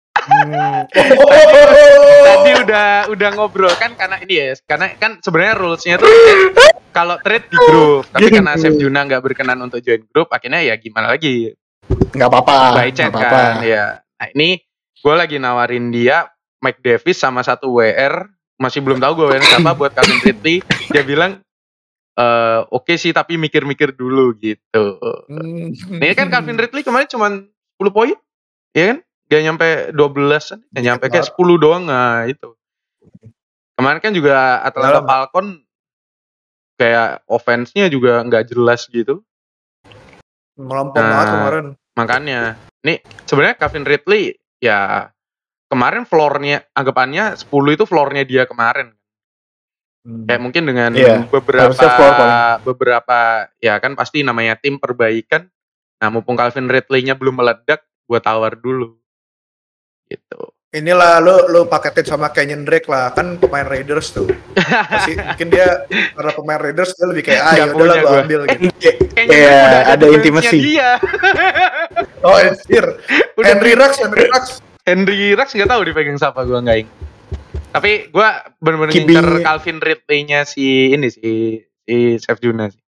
Tadi udah ngobrol kan, karena ini ya, karena kan sebenarnya rules-nya tuh kalau trade di grup, tapi karena Chef Juna nggak berkenan untuk join grup, akhirnya ya gimana lagi?
Nggak apa-apa.
By chat kan, ya. Nah ini gue lagi nawarin dia Mike Davis sama satu WR. Masih belum tahu gue WR siapa buat Calvin Ridley. Dia bilang oke sih, tapi mikir-mikir dulu gitu. Ini kan Calvin Ridley kemarin cuma 10 poin, ya kan? Gak nyampe 12, gak nyampe kayak 10 doang. Nah itu. Kemarin kan juga Atlanta Falcon kayak offense-nya juga gak jelas gitu.
Melompong banget kemarin.
Makanya, nih sebenarnya Calvin Ridley ya kemarin floor-nya, anggapannya 10 itu floor-nya dia kemarin. Kayak mungkin dengan beberapa ya kan pasti namanya tim perbaikan. Nah, mumpung Calvin Ridley-nya belum meledak, gue tawar dulu. Gitu.
Inilah lu paketin sama Kenyon Drake lah, kan pemain Raiders tuh. Pasti mungkin dia karena pemain Raiders dia lebih kayak ya udahlah gue ambil gitu.
Iya, ada intimasi.
Oh, anjir. Henry
Rux nggak tahu dipegang siapa, gue nggak ingat. Tapi gue benar-benar ngincer Calvin Ridley-nya si Chef Juna sih.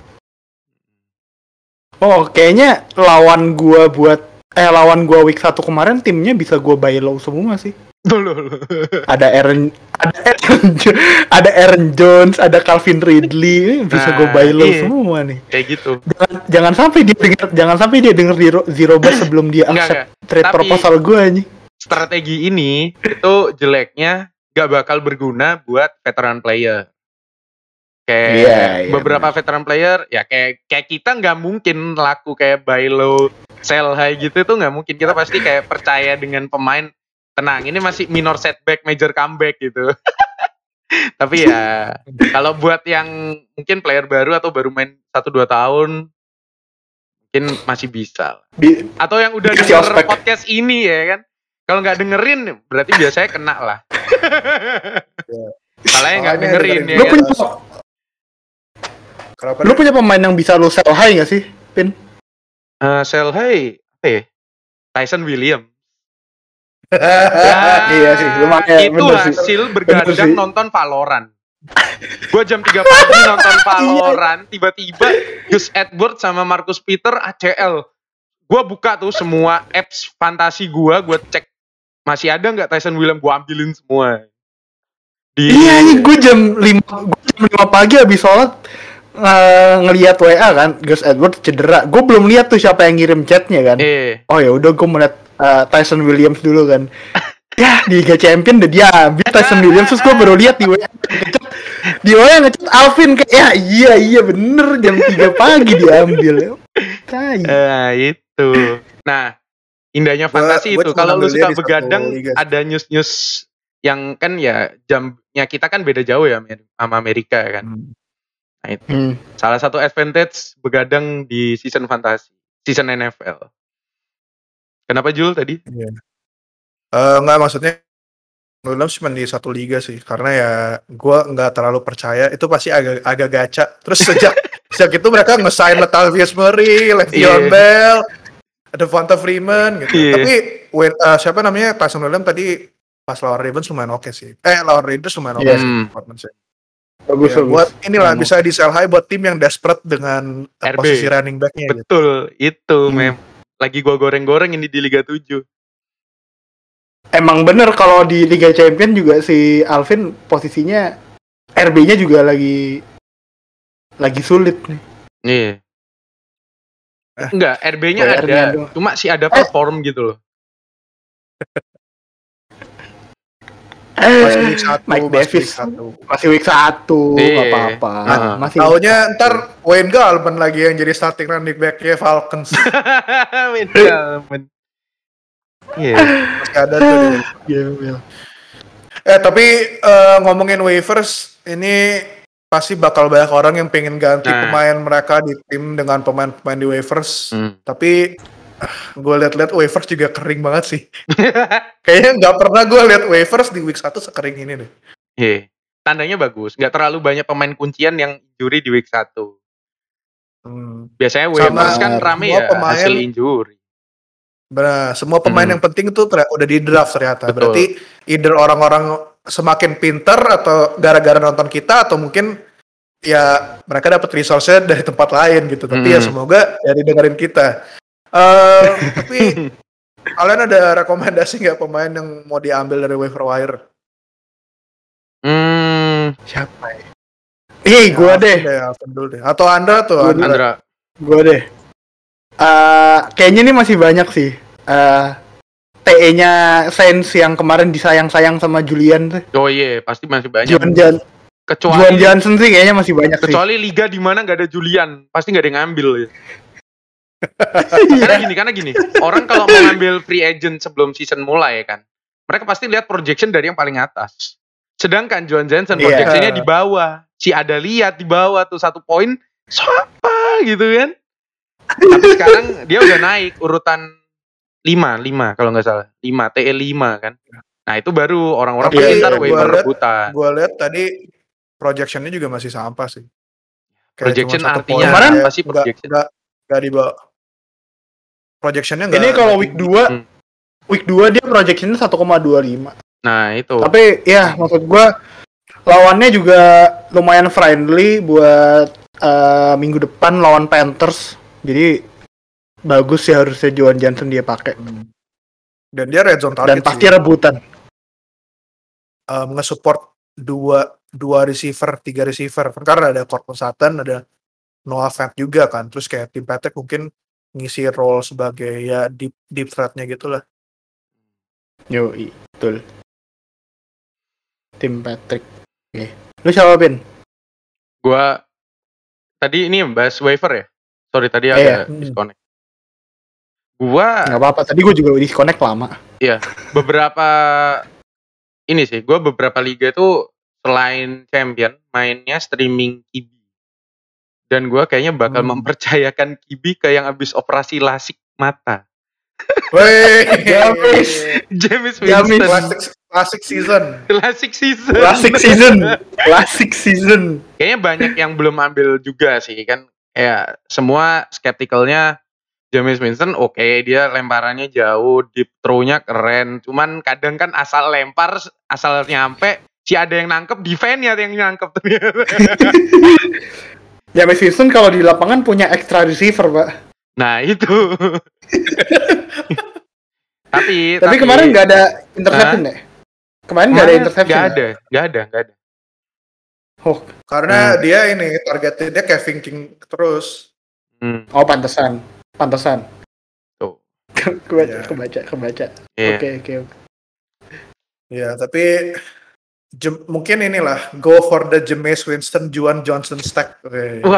Oh, kayaknya lawan gua week 1 kemarin timnya bisa gua buy low semua sih.
Loh.
Ada Aaron Jones, ada Calvin Ridley, bisa gua buy low semua nih.
Kayak gitu.
Jangan sampai dia denger zero bus sebelum dia accept trade proposal gua nih.
Strategi ini itu jeleknya gak bakal berguna buat veteran player. Kayak beberapa veteran player ya kayak kita nggak mungkin laku kayak buy low sell high gitu tuh, nggak mungkin. Kita pasti kayak percaya dengan pemain, tenang ini masih minor setback major comeback gitu. Tapi ya kalau buat yang mungkin player baru atau baru main 1-2 tahun mungkin masih bisa. Atau yang udah denger podcast ini ya kan, kalau nggak dengerin berarti biasanya kena lah. Salahnya nggak dengerin ya.
Lu punya pemain yang bisa lu sell high nggak sih, Pin?
Sell high apa ya? Tyson Williams.
Iya sih, lumayan.
Itu hasil bergadang nonton Valorant. Gue jam 3 pagi nonton Valorant, tiba-tiba Gus Edward sama Marcus Peter ACL. Gue buka tuh semua apps fantasi gue cek masih ada nggak Tyson Williams, gue ambilin semua.
Iya, gue jam 5 pagi habis sholat ngelihat WA kan, Gus Edward cedera. Gue belum lihat tuh siapa yang ngirim chatnya kan. Oh ya udah, gue melihat Tyson Williams dulu kan. Ya di Liga Champion udah dia ambil Tyson Williams, terus gue baru lihat di WA ngechat Alvin kayak iya bener jam 3 pagi diambil.
Itu. Nah, indahnya fantasi itu. Kalau lu suka begadang, ada news yang kan ya jamnya kita kan beda jauh ya sama Amerika kan. Nah itu salah satu advantage begadang di season fantasi, season NFL. Kenapa Jul tadi?
Nggak, maksudnya Williams cuma di satu liga sih, karena ya gue nggak terlalu percaya itu pasti agak gacha. Terus sejak itu mereka nge-sign Latavius Murray, Le'Veon Bell, ada Devonta Freeman gitu. Tapi siapa namanya Tyson Williams tadi pas lawan Ravens lumayan oke sih. Lawan Raiders lumayan oke sih. Bagus. Buat inilah bisa di sell high buat tim yang desperate dengan posisi running back-nya.
Betul, itu lagi gue goreng-goreng ini di Liga 7.
Emang bener kalau di Liga Champion juga si Alvin posisinya RB-nya juga lagi sulit nih.
Iya. Enggak, RB-nya ada, cuma sih ada perform gitu loh.
Masih week 1,
Mike Davis masih week 1, enggak apa-apa.
Masih taunya ntar Wayne Gallman lagi yang jadi starting running back-nya Falcons.
Wayne Gallman.
Iya. Masih ada tuh dia. Tapi ngomongin waivers, ini pasti bakal banyak orang yang pengen ganti pemain mereka di tim dengan pemain-pemain di waivers. Tapi gue liat-liat waivers juga kering banget sih. Kayaknya nggak pernah gue liat waivers di week 1 sekering ini deh.
Iya, tandanya bagus. Nggak terlalu banyak pemain kuncian yang injury di week 1. Biasanya waivers kan rame ya hasil injury.
Benar, semua pemain yang penting itu udah di draft ternyata. Betul. Berarti either orang-orang semakin pinter atau gara-gara nonton kita, atau mungkin ya mereka dapat resource-nya dari tempat lain gitu. Tapi ya semoga dari dengerin kita. Tapi kalian ada rekomendasi nggak pemain yang mau diambil dari waiver wire?
Siapa ya? Gue deh.
Atau Andra tuh?
Andra.
Gue deh. Kayaknya ini masih banyak sih. TE-nya Saints yang kemarin disayang-sayang sama Julian tuh.
Oh iya, pasti masih banyak.
Juan Johnson sih kayaknya masih banyak sih.
Kecuali liga di mana nggak ada Julian, pasti nggak ada yang ngambil ya. Karena gini, orang kalau mau ngambil free agent sebelum season mulai kan, mereka pasti lihat projection dari yang paling atas. Sedangkan Juan Johnson projectionnya di bawah. Si ada lihat di bawah tuh 1 poin, siapa gitu kan? Tapi sekarang dia udah naik urutan 5 kalau nggak salah. 5, TE 5 kan. Nah itu baru orang-orang pasti ntar waiver rebutan.
Gue lihat tadi projectionnya juga masih sampah sih.
Projection artinya apa sih projection?
Nggak di bawah. Projectionnya nggak.
Ini kalau week 2 dia projectionnya 1,25.
Nah itu.
Tapi ya maksud gue lawannya juga lumayan friendly buat minggu depan lawan Panthers. Jadi bagus sih harusnya Juan Johnson dia pakai.
Dan dia red zone target.
Dan pasti rebutan.
Nge-support 2 receiver, 3 receiver. Karena ada Courtland Sutton, ada Noah Fant juga kan. Terus kayak Tim Patrick mungkin ngisi role sebagai ya deep threat-nya gitu lah.
Yoi, betul. Tim Patrick. Oke. Lu siapa, Ben?
Gua tadi ini bahas waiver ya. Sorry tadi ada disconnect. Gua
nggak apa-apa. Tadi gua juga disconnect lama.
Iya. Beberapa liga itu selain champion mainnya streaming QB. Dan gua kayaknya bakal mempercayakan QB ke yang habis operasi lasik mata.
Woi,
James Winston.
Classic
season.
Kayaknya banyak yang belum ambil juga sih kan. Ya semua skeptikalnya Jameis Winston dia lemparannya jauh, deep throw-nya keren. Cuman kadang kan asal lempar, asal nyampe, ada yang nangkep, defense-nya yang nangkep.
Jameis Winston kalau di lapangan punya extra receiver, Pak.
Nah, itu. tapi
kemarin nggak ada interception ya? Kemarin nggak ada interception.
Nggak ada.
Oh,
karena dia ini targetnya Kevin King terus.
Oh, pantesan.
Tuh.
Kebaca.
Yeah.
Oke.
Ya, tapi mungkin inilah go for the Jameis Winston Juwan Johnson stack.
Wah.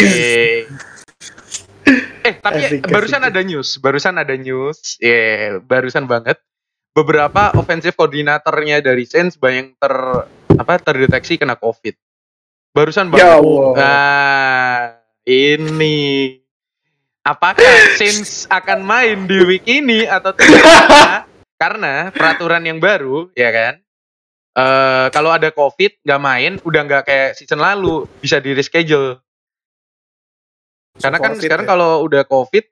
Tapi barusan ada news. Barusan banget. Beberapa offensive koordinatornya dari Saints banyak terdeteksi kena COVID. Barusan banget.
Ya Allah.
Nah, ini apakah Saints akan main di week ini atau tidak? Karena peraturan yang baru, ya kan? Kalau ada COVID nggak main, udah nggak kayak season lalu, bisa di reschedule. Karena kan sekarang kalau udah COVID,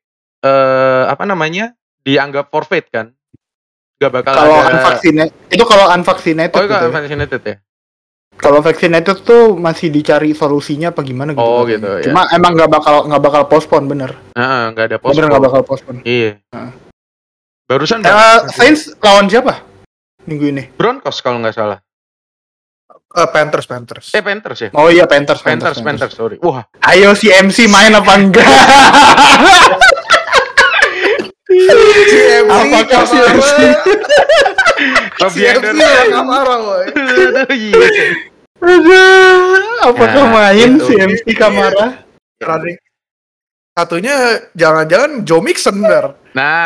dianggap forfeit kan? Nggak bakal
kalau unvaccinated. Itu kalau unvaccinated.
Oh, kalau unvaccinated ya?
Kalau vaccinated tuh masih dicari solusinya apa gimana gitu.
Oh gitu.
Cuma
ya.
Emang nggak bakal postpone bener.
Nggak ada postpone.
Bener nggak bakal postpone.
Iya. Barusan.
Saints lawan siapa minggu ini?
Broncos kalau nggak salah.
Panthers.
Panthers ya?
Oh iya Panthers,
sorry. Wah.
Ayo si MC main apa enggak? Apakah si MC?
Kamara, woy.
Apakah main si MC Kamara?
Satunya jangan-jangan Joe Mixon bener.
Nah,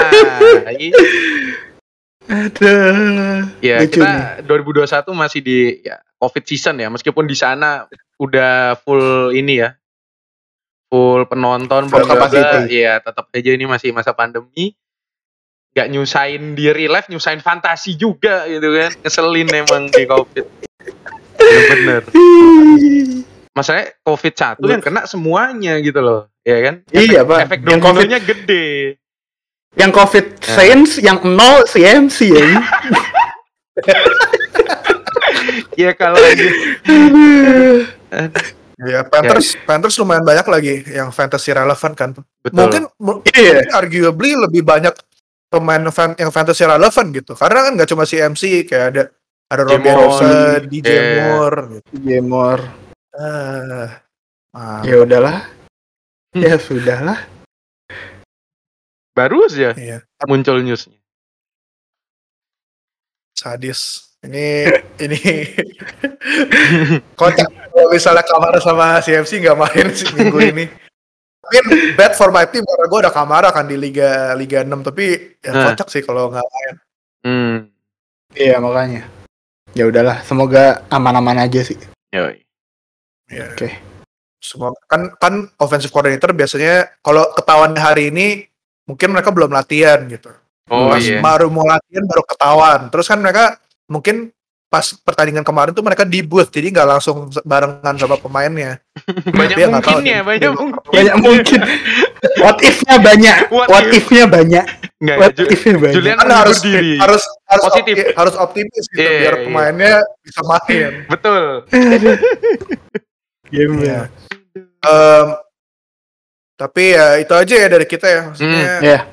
Aduh.
Ya, kita 2021 masih di COVID season ya, meskipun di sana udah full ini ya. Full penonton,
full kapasitas.
Iya, tetap aja ini masih masa pandemi. Gak nyusahin di real life, nyusahin fantasi juga gitu kan. Ngeselin emang di COVID. Bener. Masalahnya COVID-1 yang kena semuanya gitu loh, ya kan?
Iya, Pak.
Efek dominonya gede.
Yang COVID Saints, yang 0 CMC ya.
Ya kalau ya Panthers lumayan banyak lagi yang fantasy relevan kan.
Betul.
Mungkin arguably lebih banyak pemain yang fantasy relevan gitu. Karena kan nggak cuma CMC, kayak ada Robbie Rosen, DJ Moore.
DJ Moore. Ya udahlah. Ya sudahlah.
Baru aja muncul newsnya.
Sadis. Ini kocak kalau misalnya Kamara sama CMC nggak main sih minggu ini. Mungkin bad for my team karena gue ada Kamara kan di Liga 6, tapi kocak sih kalau nggak main.
Iya makanya. Ya udahlah, semoga aman-aman aja sih.
Yoi.
Ya. Oke. Semua kan offensive coordinator biasanya kalau ketahuan hari ini mungkin mereka belum latihan gitu. Baru mau latihan baru ketahuan. Terus kan mereka mungkin pas pertandingan kemarin tuh mereka di booth, jadi nggak langsung barengan sama pemainnya.
Banyak mungkin.
What if-nya banyak.
Julian kan harus positif, harus optimis gitu biar pemainnya bisa main.
Betul.
Game.
Tapi ya itu aja ya dari kita ya, maksudnya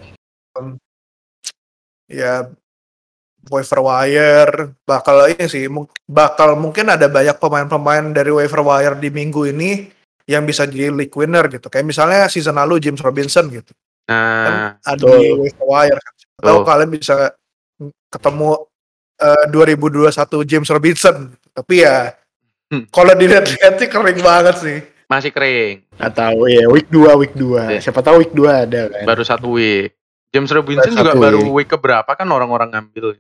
ya waiver wire bakal mungkin ada banyak pemain-pemain dari waiver wire di minggu ini yang bisa jadi league winner gitu, kayak misalnya season lalu James Robinson gitu kan ada di waiver wire kan. Atau kalian bisa ketemu 2021 James Robinson, tapi ya kalau dilihat sih kering banget sih.
Masih kering.
Nggak tahu ya, week 2. Siapa tahu week 2 ada kan.
Baru 1 week. James Robinson juga baru week keberapa kan orang-orang ngambil.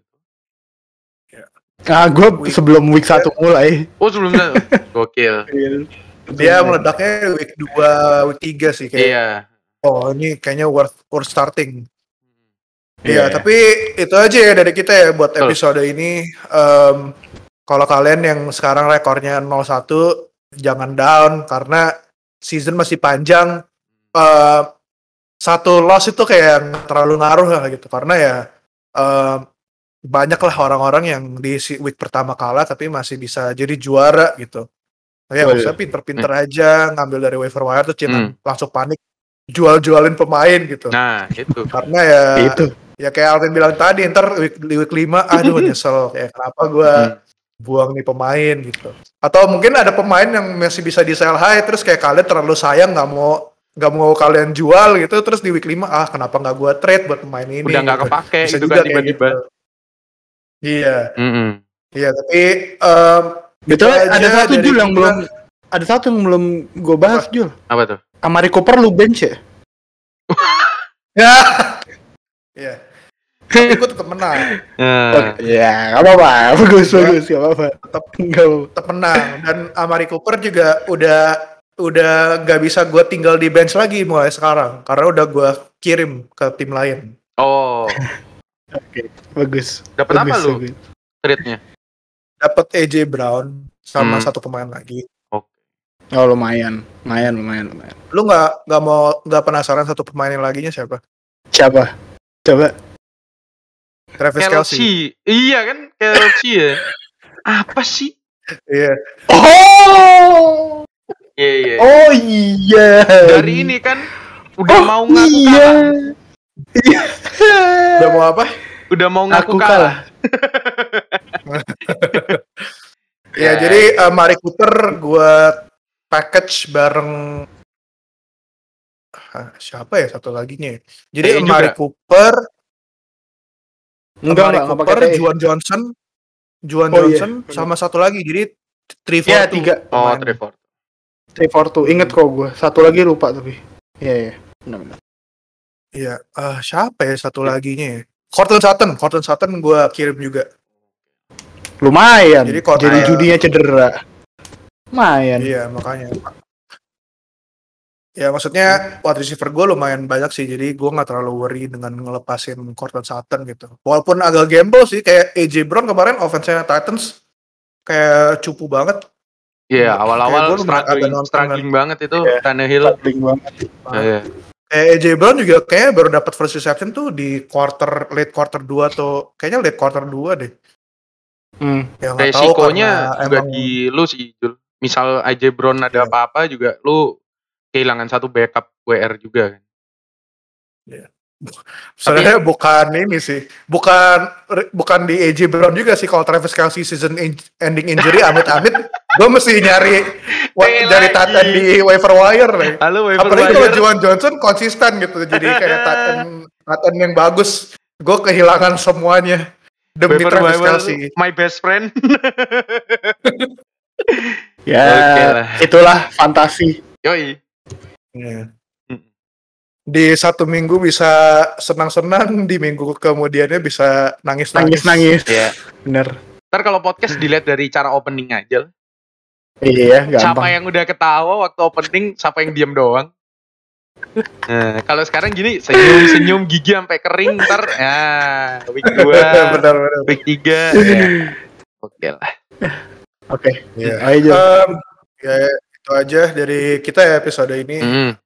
Gue sebelum week 1 mulai.
Oh sebelumnya. Gokil.
Dia meledaknya week 2, week 3 sih kayak.
Iya.
Oh ini kayaknya worth starting. Iya, tapi itu aja ya dari kita ya buat episode ini. Kalau kalian yang sekarang rekornya 0-1, jangan down karena season masih panjang. satu loss itu kayak terlalu ngaruh lah gitu, karena ya banyak lah orang-orang yang di week pertama kalah tapi masih bisa jadi juara gitu. Ya usah pinter-pinter aja ngambil dari waiver wire tuh langsung panik jual-jualin pemain gitu.
Nah itu
karena ya itu ya kayak Alvin bilang tadi, ntar di week 5 aduh nyesel kayak kenapa gue buang nih pemain gitu. Atau mungkin ada pemain yang masih bisa di sell high terus kayak kalian terlalu sayang nggak mau kalian jual gitu, terus di week 5 kenapa nggak gue trade buat pemain ini,
udah nggak kepake gitu kan tiba-tiba
gitu. Iya iya tapi
betul. Ada satu Jul yang belum ada satu yang belum gue bahas. Jul
apa tuh?
Amari Cooper lu bench ya?
Ya iya tapi gue tetap menang.
Ya nggak apa-apa, bagus nggak apa-apa,
tetap menang. Dan Amari Cooper juga udah nggak bisa gue tinggal di bench lagi mulai sekarang karena udah gue kirim ke tim lain.
Oke, bagus.
Dapat apa lu trade-nya?
Dapat AJ Brown sama satu pemain lagi.
Oh lumayan.
Lu nggak penasaran satu pemain yang laginya siapa?
Coba.
Travis Kelce.
Iya kan, Kelce ya. Apa sih?
Iya.
Iya.
Oh iya.
Dari ini kan udah mau ngaku kalah.
Iya.
Udah mau apa?
Udah mau ngaku kalah.
Ya jadi Amari Cooper gue package bareng siapa ya satu laginya. Jadi Amari Cooper Juan Johnson sama satu lagi, jadi 3-4-2.
3-4-2. Ingat kok gue. Satu lagi lupa tapi. Iya. Benar.
Iya, siapa ya satu laginya ya? Cortland Sutton gue kirim juga.
Lumayan. Jadi judinya cedera. Lumayan.
Iya, makanya. Ya maksudnya wide receiver gue lumayan banyak sih, jadi gue nggak terlalu worry dengan ngelepasin Cortland Sutton gitu. Walaupun agak gamble sih, kayak AJ Brown kemarin offense-nya Titans kayak cupu banget.
Iya, awal-awal struggling banget itu Tannehill.
Struggling banget.
Kayak AJ Brown juga kayaknya baru dapat first reception tuh di late quarter 2 atau kayaknya late quarter 2 deh.
Ya, resikonya juga di lu sih, Jul. Misal AJ Brown ada apa-apa juga lu kehilangan satu backup WR juga kan.
Iya. Sebenarnya bukan ini sih. Bukan di AJ Brown juga sih, kalau Travis Kelce season ending injury amit-amit gue mesti nyari Titan di waiver wire nih. Apalagi kalau Juwan Johnson konsisten gitu, jadi kayak Titan yang bagus. Gue kehilangan semuanya demi Travis Kelce.
My best friend.
Itulah fantasi.
Yoi.
Yeah. Di satu minggu bisa senang-senang, di minggu kemudiannya bisa nangis-nangis.
Iya, bener.
Ntar kalau podcast dilihat dari cara opening aja.
Iya, gampang.
Siapa yang udah ketawa waktu opening, siapa yang diam doang. Nah, kalau sekarang gini, senyum gigi sampai kering, ntar week 2, bener. Week 3 Oke lah.
Oke.
Ya itu aja dari kita ya episode ini.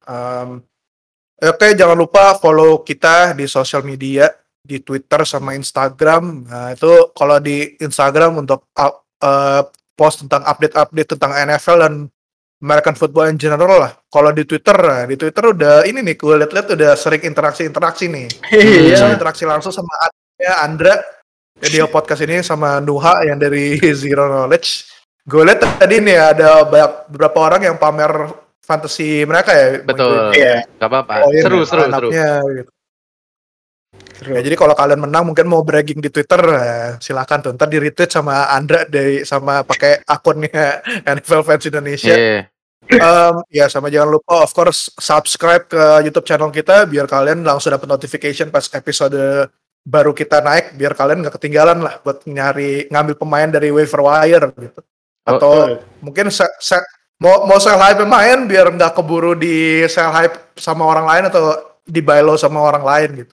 Oke, jangan lupa follow kita di sosial media, di Twitter sama Instagram. Nah, itu kalau di Instagram untuk post tentang update tentang NFL dan American football in general lah. Kalau di Twitter udah ini nih, gue liat-liat udah sering interaksi nih. Bisa interaksi langsung sama Andra video podcast ini sama Nuha yang dari Zero Knowledge. Gue liat tadi nih ada beberapa orang yang pamer fantasi mereka ya.
Betul. Iya. Gak apa-apa. Seru.
Gitu. Ya, jadi kalau kalian menang mungkin mau bragging di Twitter, silakan tuh. Ntar di retweet sama Andra sama pakai akunnya NFL Fans Indonesia. Ya sama jangan lupa of course subscribe ke YouTube channel kita biar kalian langsung dapat notification pas episode baru kita naik, biar kalian nggak ketinggalan lah buat ngambil pemain dari waiver wire gitu. Atau mungkin mau sell high pemain biar nggak keburu di sell high sama orang lain atau di buy low sama orang lain gitu.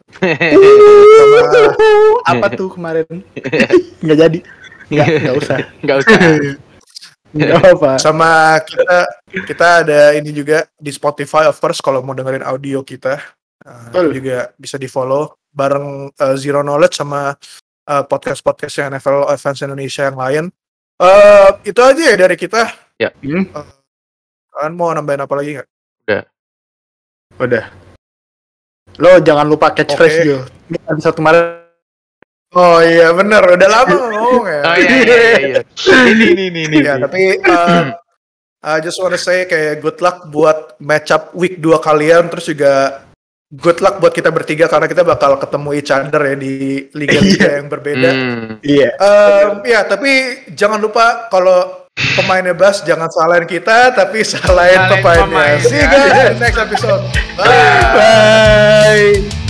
Apa tuh kemarin? Nggak jadi. Nggak usah. Nggak apa.
Sama kita ada ini juga di Spotify of course kalau mau dengerin audio kita. Juga bisa di follow bareng Zero Knowledge sama podcast-podcast yang NFL Fans Indonesia yang lain. Itu aja ya dari kita.
Ya.
Kalian mau nambahin apa lagi nggak?
Udah. Lo jangan lupa catchphrase Jo. Ini episode kemarin.
Oh iya bener, udah lama ngomong ya.
Oh iya. Ini.
Ya, tapi I just wanna say kayak good luck buat match up week 2 kalian, terus juga good luck buat kita bertiga karena kita bakal ketemu each other ya di liga-liga yang berbeda. Ya, tapi jangan lupa kalau pemainnya Bas jangan salahin kita, tapi salahin pemainnya. See you guys next episode. Bye.